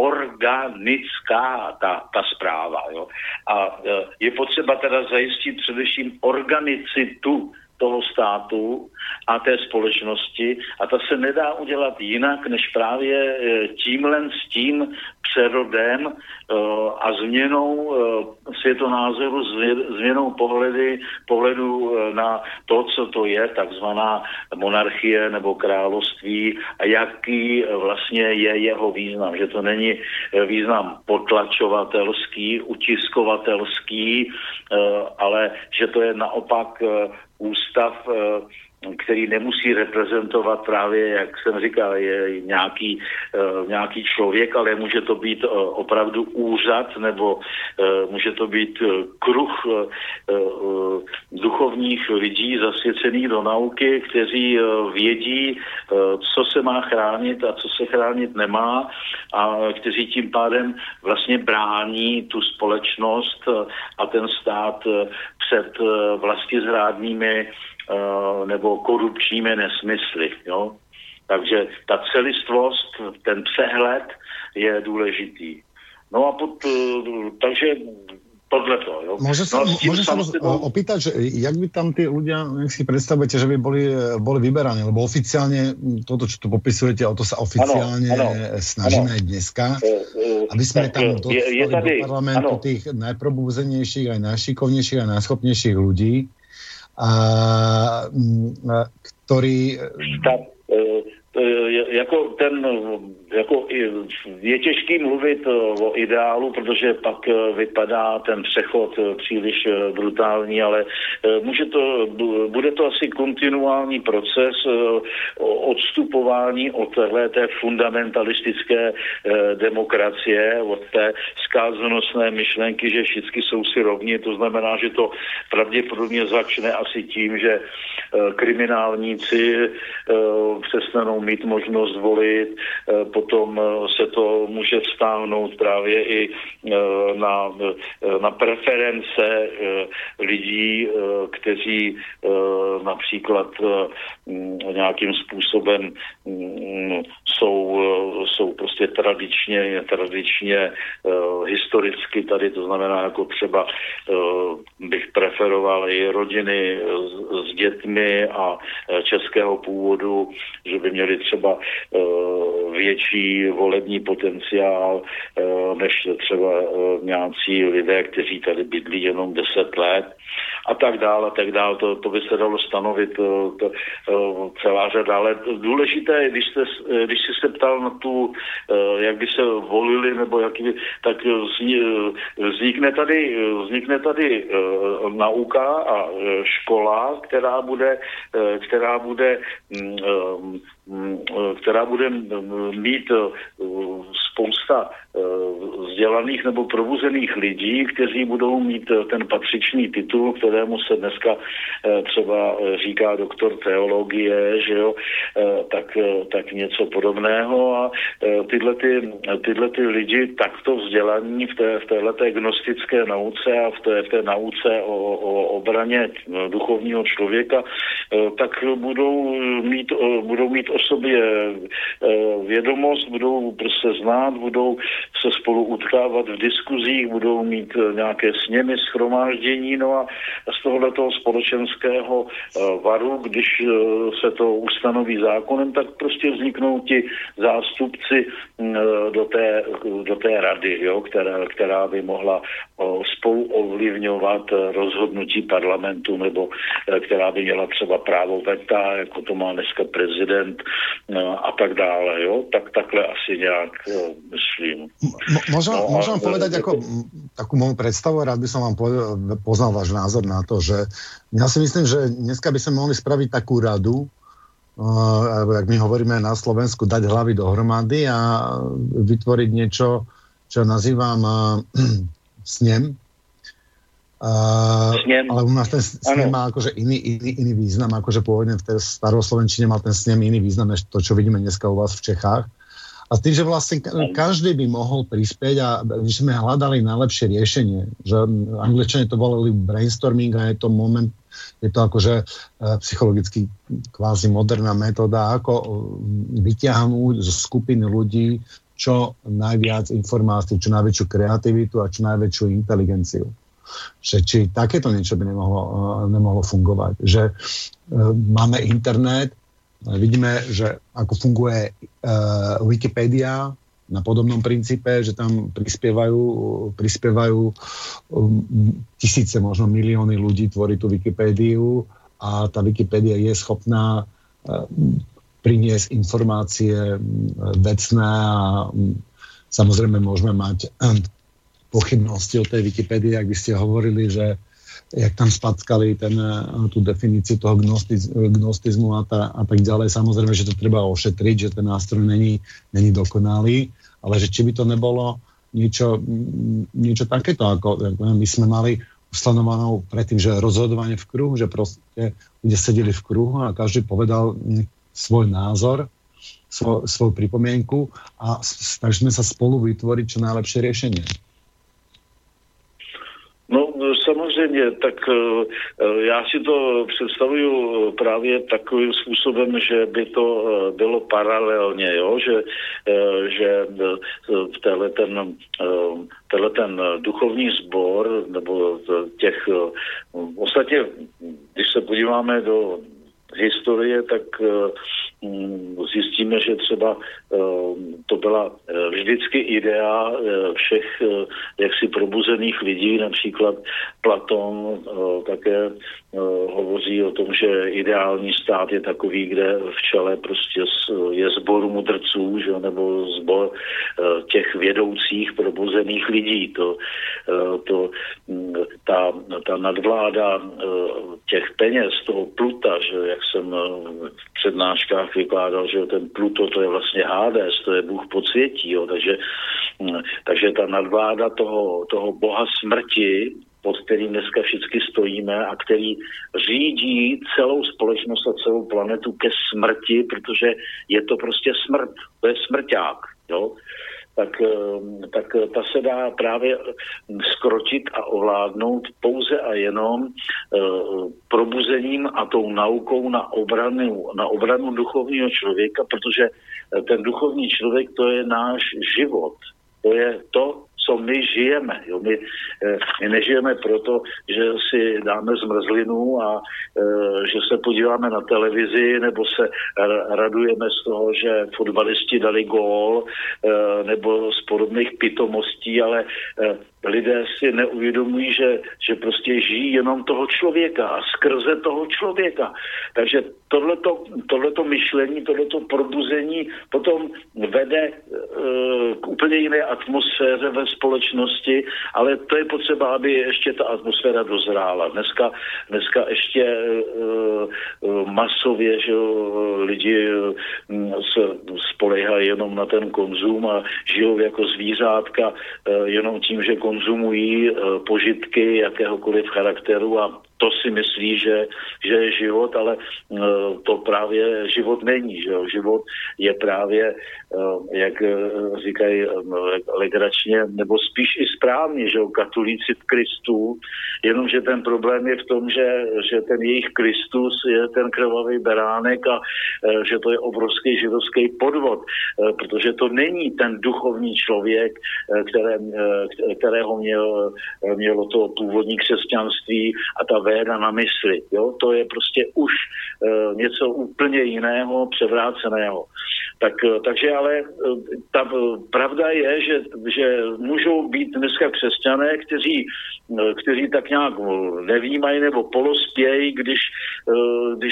organická ta, ta zpráva. Jo? A je potřeba teda zajistit především organicitu toho státu a té společnosti a ta se nedá udělat jinak, než právě tímhle s tím přerodem a změnou světonázoru, změnou pohledy, pohledu na to, co to je takzvaná monarchie nebo království a jaký vlastně je jeho význam. Že to není význam potlačovatelský, utiskovatelský, ale že to je naopak ústav, který nemusí reprezentovat právě, jak jsem říkal, je nějaký, nějaký člověk, ale může to být opravdu úřad, nebo může to být kruh duchovních lidí zasvěcených do nauky, kteří vědí, co se má chránit a co se chránit nemá a kteří tím pádem vlastně brání tu společnost a ten stát před vlastizrádnými nebo korupčními nesmysly. Jo? Takže ta celistvost, ten přehled je důležitý. No a pod, takže tohleto. Jo? Môže sa, no, môže sa vás opýtať, že jak by tam tí ľudia, jak si predstavujete, že by boli, boli vyberaní, lebo oficiálne toto, čo tu popisujete, o to sa oficiálne ano, ano, snažíme ano. aj dneska, aby sme tam dostali do parlamentu ano. tých najprobúzenejších, aj najšikovnejších, aj najschopnejších ľudí, a, a který... Tak, e, jako ten, jako je těžký mluvit o ideálu, protože pak vypadá ten přechod příliš brutální, ale může to, bude to asi kontinuální proces odstupování od té fundamentalistické demokracie, od té zkázonosné myšlenky, že všichni jsou si rovni. To znamená, že to pravděpodobně začne asi tím, že kriminálníci přestanou mít možnost volit, potom se to může vztáhnout právě i na, na preference lidí, kteří například nějakým způsobem jsou, jsou prostě tradičně, tradičně historicky tady, to znamená jako třeba bych preferoval i rodiny s, s dětmi a českého původu, že by měli třeba větší volební potenciál než třeba nějací lidé, kteří tady bydlí jenom deset let a tak dále, a tak dále. To, to by se dalo stanovit to, to, celá řada. Ale důležité je, když, jste, když jsi se ptal na tu, jak by se volili, nebo jak by, tak vznikne tady, vznikne tady nauka a škola, která bude, která bude která bude mít spousta vzdělaných nebo probuzených lidí, kteří budou mít ten patřičný titul, kterému se dneska třeba říká doktor teologie, že jo, tak, tak něco podobného a tyhle, ty, tyhle ty lidi takto vzdělaní v, té, v téhleté gnostické nauce a v té, v té nauce o, o obraně duchovního člověka, tak budou mít, budou mít o sobě vědomost, budou prostě znát, budou se spolu utkávat v diskuzích, budou mít nějaké sněmy, shromáždění, no a z tohoto společenského varu, když se to ustanoví zákonem, tak prostě vzniknou ti zástupci do té, do té rady, jo, která, která by mohla spolu ovlivňovat rozhodnutí parlamentu, nebo která by měla třeba právo veta, jako to má dneska prezident a tak dále, jo, tak takhle asi nějak myslím. Môžem, no, môžem povedať ako takú moju predstavu, rád by som vám poznal váš názor na to, že ja si myslím, že dneska by sme mohli spraviť takú radu, uh, jak my hovoríme na Slovensku, dať hlavy dohromady a vytvoriť niečo, čo nazývam uh, snem. Uh, ale u nás ten snem má akože iný, iný, iný význam, akože pôvodne v tej staroslovenčine mal ten snem iný význam, než to, čo vidíme dneska u vás v Čechách. A s tým, že vlastne každý by mohol prispieť a my sme hľadali najlepšie riešenie. Že Angličania to volali brainstorming a je to moment, je to akože psychologicky kvázi moderná metóda, ako vyťahnuť zo skupiny ľudí čo najviac informácií, čo najväčšiu kreativitu a čo najväčšiu inteligenciu. Že či takéto niečo by nemohlo, nemohlo fungovať. Že máme internet, vidíme, že ako funguje uh, Wikipedia na podobnom princípe, že tam prispievajú, prispievajú um, tisíce, možno milióny ľudí tvorí tú Wikipédiu a tá Wikipédia je schopná uh, priniesť informácie um, vecné a um, samozrejme môžeme mať um, pochybnosti o tej Wikipédii, ak by ste hovorili, že jak tam spackali ten, tú definíciu toho gnostiz, gnostizmu a, tá, a tak ďalej. Samozrejme, že to treba ošetriť, že ten nástroj není, není dokonalý, ale že či by to nebolo niečo, niečo takéto, ako my sme mali ustanovanou predtým, že rozhodovanie v kruhu, že proste ľudia sedeli v kruhu a každý povedal svoj názor, svoj, svoju pripomienku a snažíme sa spolu vytvoriť čo najlepšie riešenie. No samozřejmě, tak já si to představuju právě takovým způsobem, že by to bylo paralelně, jo? Že, že v téhle ten, téhle ten duchovní sbor, nebo těch, ostatně, když se podíváme do historie, tak zjistíme, že třeba to byla vždycky idea všech jaksi probuzených lidí, například Platón také hovoří o tom, že ideální stát je takový, kde v čele prostě je sbor mudrců, že, nebo sbor těch vědoucích probuzených lidí. To, to, ta, ta nadvláda těch peněz, toho Pluta, že jak jsem v přednáškách vykládal, že ten Pluto to je vlastně Hades, to je Bůh podsvětí, jo, takže, takže ta nadvláda toho, toho boha smrti, pod kterým dneska všichni stojíme a který řídí celou společnost a celou planetu ke smrti, protože je to prostě smrt, to je smrťák, jo. Tak, tak ta se dá právě skrotit a ovládnout pouze a jenom probuzením a tou naukou na obranu, na obranu duchovního člověka, protože ten duchovní člověk, to je náš život. To je to, co my žijeme. Jo? My, my nežijeme proto, že si dáme zmrzlinu a e, že se podíváme na televizi nebo se radujeme z toho, že fotbalisti dali gól e, nebo z podobných pitomostí, ale e, lidé si neuvědomují, že, že prostě žijí jenom toho člověka a skrze toho člověka. Takže tohleto, tohleto myšlení, tohleto probuzení potom vede e, k úplně jiné atmosféře ve společnosti, ale to je potřeba, aby ještě ta atmosféra dozrála. Dneska, dneska ještě e, e, masově, že lidi se spoléhají jenom na ten konzum a žijou jako zvířátka e, jenom tím, že konzumují e, požitky jakéhokoliv charakteru a to si myslí, že, že je život, ale uh, to právě život není. Že jo? Život je právě, uh, jak uh, říkají uh, legračně, nebo spíš i správně, že jo? Katolíci v Kristu, jenomže ten problém je v tom, že, že ten jejich Kristus je ten krvavý beránek a uh, že to je obrovský židovský podvod, uh, protože to není ten duchovní člověk, uh, které, uh, kterého měl, uh, mělo to původní křesťanství a ta véda na mysli. Jo? To je prostě už e, něco úplně jiného, převráceného. Tak, takže ale ta pravda je, že, že můžou být dneska křesťané, kteří, kteří tak nějak nevnímají nebo polospějí, když, když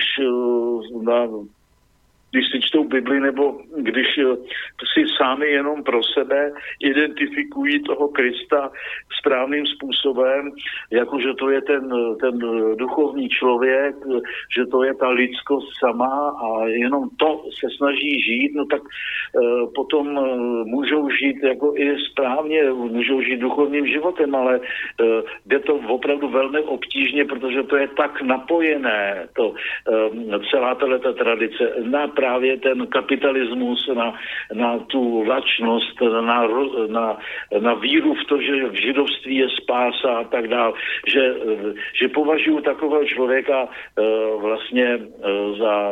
na když si čtou Bibli, nebo když si sami jenom pro sebe identifikují toho Krista správným způsobem, jakože to je ten, ten duchovní člověk, že to je ta lidskost sama a jenom to se snaží žít, no tak e, potom e, můžou žít jako i správně, můžou žít duchovním životem, ale e, jde to opravdu velmi obtížně, protože to je tak napojené, to, e, celá tato tradice, na právě ten kapitalismus, na, na tu lačnost, na, na, na víru v to, že v židovství je spása a tak dál, že, že považuji takového člověka uh, vlastně uh, za,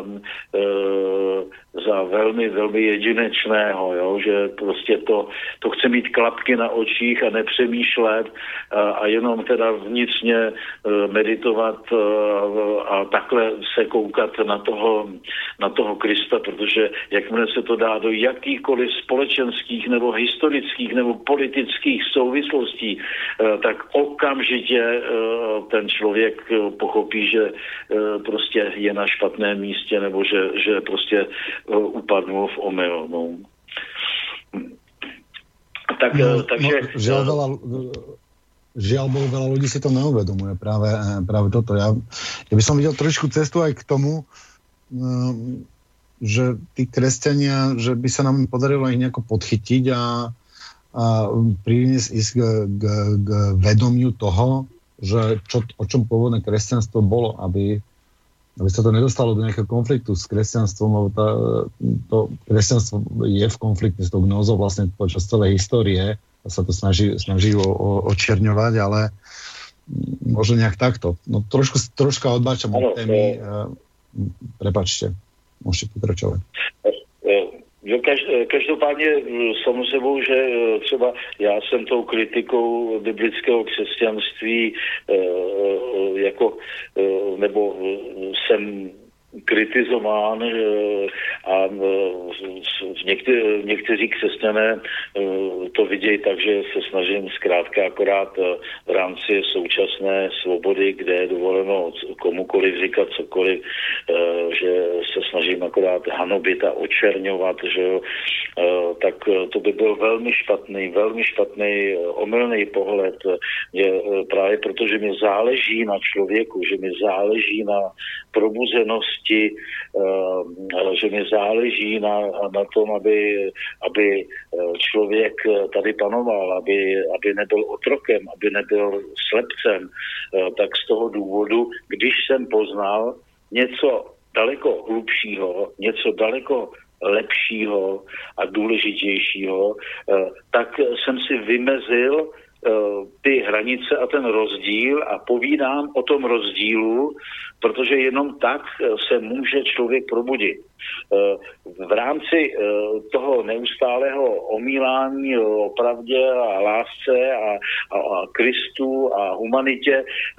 uh, za velmi, velmi jedinečného, jo? Že prostě to, to chce mít klapky na očích a nepřemýšlet uh, a jenom teda vnitřně uh, meditovat uh, a takhle se koukat na toho, na toho Krista, protože jakmile se to dá do jakýchkoliv společenských nebo historických nebo politických souvislostí, tak okamžitě ten člověk pochopí, že prostě je na špatném místě nebo že, že prostě upadnul v omyl. No. Tak, no, takže... No, žiaľ, veľa, žiaľ Bohu, veľa ľudí si to neuvedomuje práve, práve toto. Ja, ja by som videl trošku cestu aj k tomu, že tí kresťania, že by sa nám podarilo ich nejako podchytiť a, a priniesť ísť k, k, k vedomiu toho, že čo, o čom pôvodné kresťanstvo bolo, aby, aby sa to nedostalo do nejakého konfliktu s kresťanstvom, lebo tá, to kresťanstvo je v konflikte s tou gnózou vlastne počas celej histórie a sa to snaží, snaží o, o, očierňovať, ale možno nejak takto. No trošku, troška odbáčam od témy. Prepačte. Můžete pokračovat. Každopádně samozřejmě, že třeba já jsem tou kritikou biblického křesťanství jako, nebo jsem kritizován a někte, někteří křesťané to vidějí tak, že se snažím zkrátka akorát v rámci současné svobody, kde je dovoleno komukoliv říkat cokoliv, že se snažím akorát hanobit a očerňovat, že jo, tak to by byl velmi špatný, velmi špatný, omylný pohled. Je právě proto, že mi záleží na člověku, že mi záleží na probuzenosti, že mi záleží na, na tom, aby, aby člověk tady panoval, aby, aby nebyl otrokem, aby nebyl slepcem, tak z toho důvodu, když jsem poznal něco daleko hlubšího, něco daleko lepšího a důležitějšího, tak jsem si vymezil ty hranice a ten rozdíl a povídám o tom rozdílu, protože jenom tak se může člověk probudit. V rámci toho neustálého omílání o pravdě a lásce a, a, a Kristu a humanitě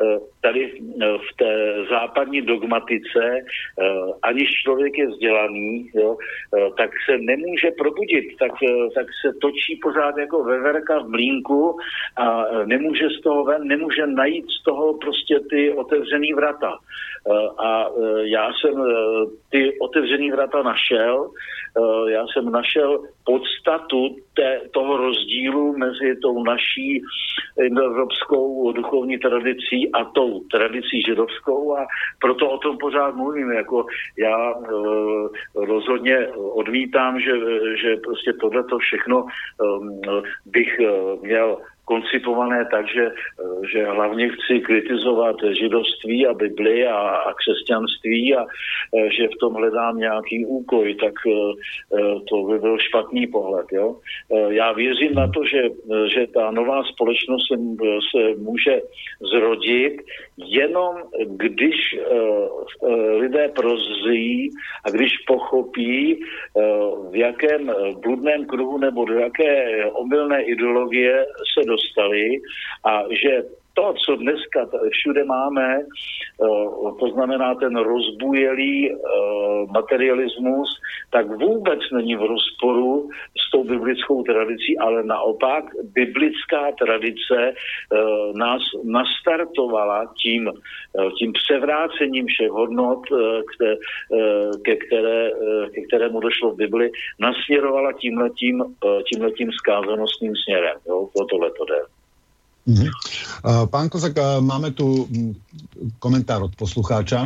tady v té západní dogmatice, aniž člověk je vzdělaný, jo, tak se nemůže probudit, tak, tak se točí pořád jako veverka v mlýnku a nemůže z toho ven, nemůže najít z toho prostě ty otevřený vrata. A já jsem ty otevřený vrata našel, já jsem našel podstatu té, toho rozdílu mezi tou naší indoevropskou duchovní tradicí a tou tradicí židovskou a proto o tom pořád mluvím. Jako já e, rozhodně odmítám, že, že prostě tohleto všechno e, bych e, měl koncipované tak, že, že hlavně chci kritizovat židovství a Bibli a, a křesťanství a že v tom hledám nějaký úkoj, tak to by byl špatný pohled. Jo? Já věřím na to, že, že ta nová společnost se, se může zrodit jenom když lidé prozří a když pochopí, v jakém bludném kruhu nebo do jaké omylné ideologie se dostali a že to, co dneska všude máme, to znamená ten rozbujelý materialismus, tak vůbec není v rozporu s tou biblickou tradicí, ale naopak biblická tradice nás nastartovala tím, tím převrácením všech hodnot, ke, které, ke kterému došlo v Bibli, nasměrovala tímhletím, tímhletím skázanostným směrem. Jo? O tohleto jde. Mhm. Pán Kozák, máme tu komentár od poslucháča.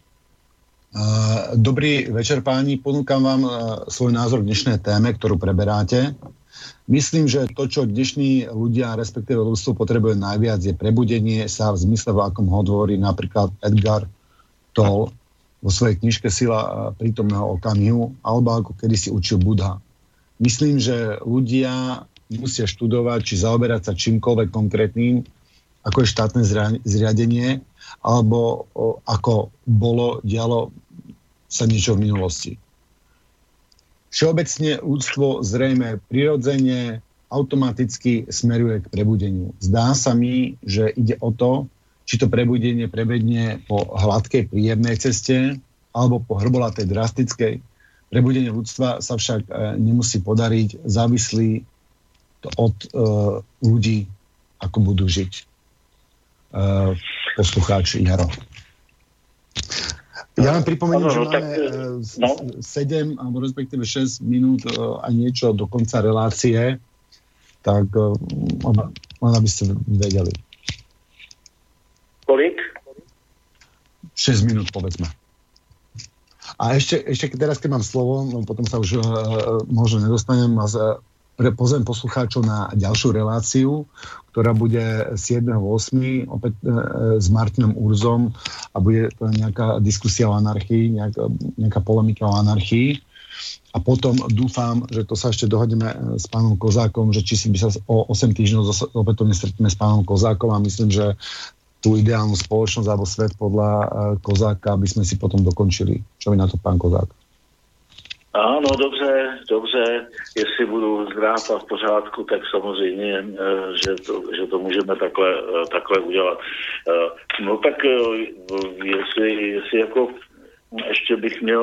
Dobrý večer, páni. Ponúkam vám svoj názor k dnešnej téme, ktorú preberáte. Myslím, že to, čo dnešní ľudia, respektíve ľudstvo potrebuje najviac, je prebudenie sa v zmysle, v akom hovorí napríklad Edgar Tolle vo svojej knižke Sila prítomného okamihu, alebo ako kedysi učil Buddha. Myslím, že ľudia musia študovať, či zaoberať sa čímkoľvek konkrétnym, ako je štátne zriadenie, alebo o, ako bolo, dialo sa niečo v minulosti. Všeobecne ľudstvo zrejme prirodzene, automaticky smeruje k prebudeniu. Zdá sa mi, že ide o to, či to prebudenie prebedne po hladkej, príjemnej ceste, alebo po hrbolatej, drastickej. Prebudenie ľudstva sa však e, nemusí podariť, závislí od uh, ľudí, ako budú žiť. Uh, poslucháč Jaro. Ja vám pripomeniem, že máme uh, sedem alebo respektíve šesť minút uh, a niečo do konca relácie, tak uh, len aby ste vedeli. Kolik? šesť minút, povedzme. A ešte, ešte teraz, keď mám slovo, no potom sa už uh, možno nedostanem a z, pozvem poslucháčov na ďalšiu reláciu, ktorá bude siedmeho ôsmeho opäť e, s Martinom Urzom a bude to nejaká diskusia o anarchii, nejaká, nejaká polemika o anarchii. A potom dúfam, že to sa ešte dohodneme s pánom Kozákom, že či si by sa o osem týždňov opätovne stretneme s pánom Kozákom a myslím, že tú ideálnu spoločnosť alebo svet podľa e, Kozáka by sme si potom dokončili. Čo mi na to pán Kozák? Ano, dobře, dobře, jestli budu zdrav a v pořádku, tak samozřejmě, že to, že to můžeme takhle, takhle udělat. No tak jestli, jestli jako ještě bych měl,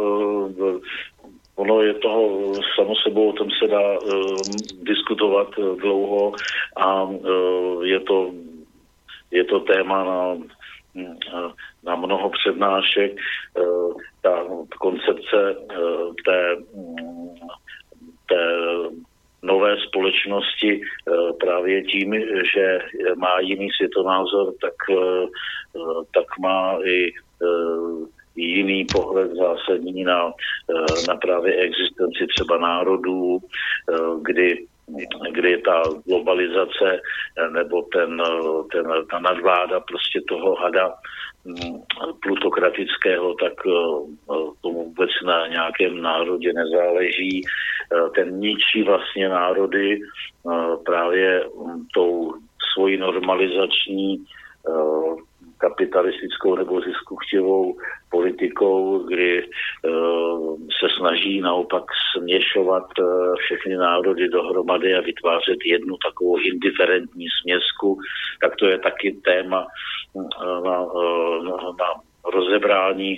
ono je toho samo sebou, o tom se dá diskutovat dlouho a je to, je to téma na na mnoho přednášek, ta koncepce té, té nové společnosti právě tím, že má jiný světonázor, tak, tak má i jiný pohled zásadní na, na právě existenci třeba národů, kdy kdy ta globalizace nebo ten, ten, ta nadvláda prostě toho hada plutokratického, tak tomu vůbec na nějakém národě nezáleží. Ten ničí vlastně národy právě tou svojí normalizační kapitalistickou nebo ziskuchtivou politikou, kdy se snaží naopak směšovat všechny národy dohromady a vytvářet jednu takovou indiferentní směsku, tak to je taky téma na, na, na rozebrání,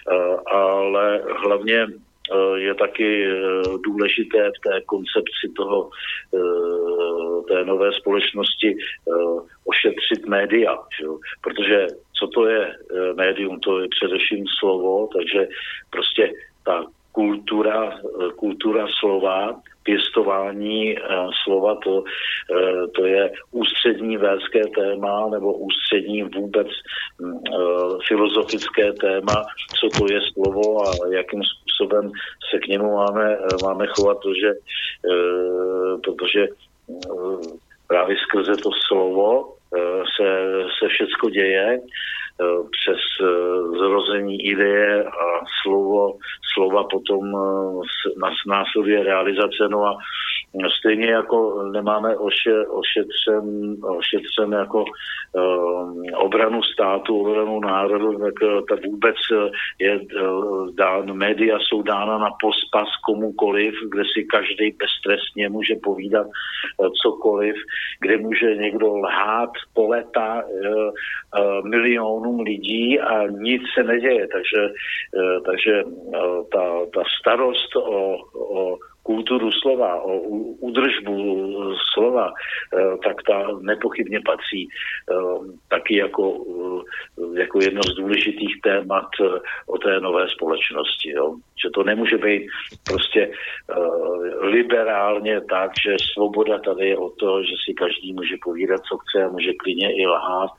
ale hlavně je taky důležité v té koncepci toho, té nové společnosti ošetřit média, že? Protože co to je médium, to je především slovo, takže prostě ta kultura, kultura slova, pěstování slova, to, to je ústřední védské téma nebo ústřední vůbec filozofické téma, co to je slovo a jakým způsobem se k němu máme, máme chovat, protože, protože právě skrze to slovo se, se všecko děje, přes zrození ideje a slovo, slova potom nás následuje realizace. No a stejně jako nemáme oše, ošetřen, ošetřen jako um, obranu státu, obranu národu, tak, tak vůbec je dán, média jsou dána na pospas komukoliv, kde si každý beztrestně může povídat cokoliv, kde může někdo lhát po leta uh, uh, milionům lidí a nic se neděje. Takže, uh, takže uh, ta, ta starost o, o kulturu slova, o údržbu slova, tak ta nepochybně patří taky jako, jako jedno z důležitých témat o té nové společnosti. Jo? Že to nemůže být prostě liberálně tak, že svoboda tady je o to, že si každý může povídat, co chce a může klidně i lhát,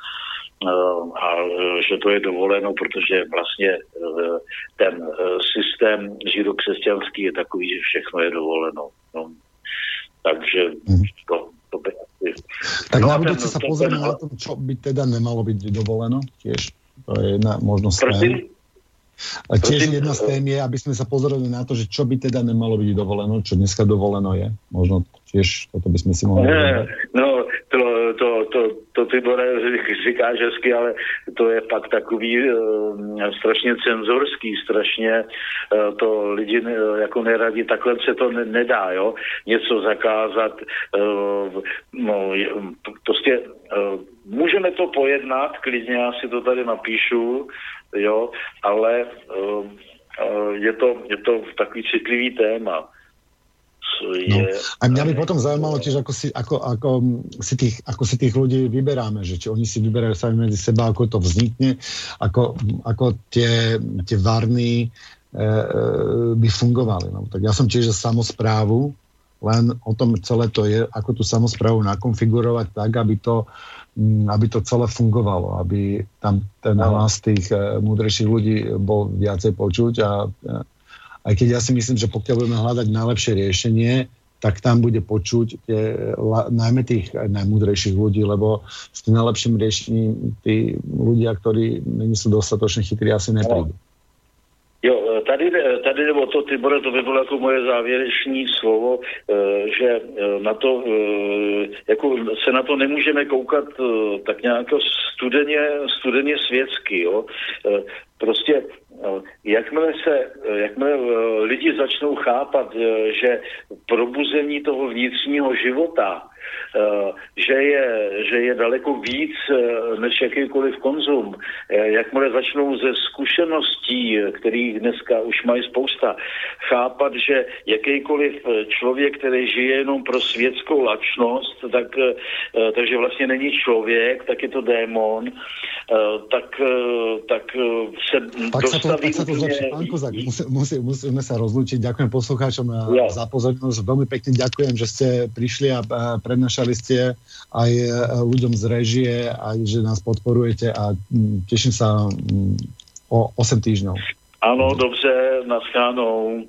a že to je dovoleno, protože vlastně ten systém židokřesťanský je takový, že všechno je dovoleno. No. Takže to, to by asi... Tak na budúce sa pozrieme na to, čo by teda nemalo byť dovoleno. Tiež to je jedna možnosť. A tiež jedna z tém je, aby sme sa pozreli na to, že čo by teda nemalo byť dovoleno, čo dneska dovoleno je. Možno tiež toto by sme si mohli... Ne, no, to, to, to, to ty, Bore, říkáš hezky, ale to je pak takový uh, strašně cenzorský, strašně uh, to lidi uh, jako neradí, takhle se to ne, nedá, jo, něco zakázat, uh, no, prostě uh, můžeme to pojednat, klidně já si to tady napíšu, jo, ale uh, uh, je to, je to takový citlivý téma. No. A mňa by potom zaujímalo tiež, ako si, ako, ako, si tých, ako si tých ľudí vyberáme, že či oni si vyberajú sami medzi seba, ako to vznikne, ako, ako tie, tie varny e, e, by fungovali. No. Tak ja som tiež za samosprávu, len o tom celé to je, ako tú samosprávu nakonfigurovať tak, aby to, aby to celé fungovalo, aby tam ten hlas tých e, múdrejších ľudí bol viacej počuť a e, aj keď ja si myslím, že pokiaľ budeme hľadať najlepšie riešenie, tak tam bude počuť tie, la, najmä tých najmúdrejších ľudí, lebo s tým najlepším riešením tí ľudia, ktorí nie sú dostatočne chytrí, asi neprídu. Jo, tady, tady nebo to, Tibore, to by bylo jako moje závěrečné slovo, že na to, jako se na to nemůžeme koukat tak nějak studeně, studeně světsky, jo. Prostě jakmile se, jakmile lidi začnou chápat, že probuzení toho vnitřního života, že je, že je daleko víc než jakýkoliv konzum. Jakmile začnou ze zkušeností, kterých dneska už mají spousta, chápat, že jakýkoliv člověk, který žije jenom pro světskou lačnost, tak, takže vlastně není člověk, tak je to démon, tak, tak se tak dostaví... Sa to, tak sa to Pán Kozák, musí, musí, musíme sa rozlúčiť. Ďakujem poslucháčom ja. za pozornosť. Veľmi pekne ďakujem, že ste prišli a prednášali ste aj ľuďom z réžie, aj že nás podporujete a teším sa o osem týždňov. Áno, dobře, naschánou.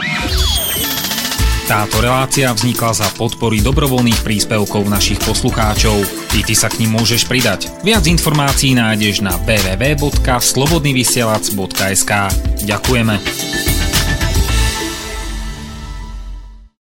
Táto relácia vznikla za podpory dobrovoľných príspevkov našich poslucháčov. I ty sa k nim môžeš pridať. Viac informácií nájdeš na w w w bodka slobodnyvysielac bodka es ka. Ďakujeme.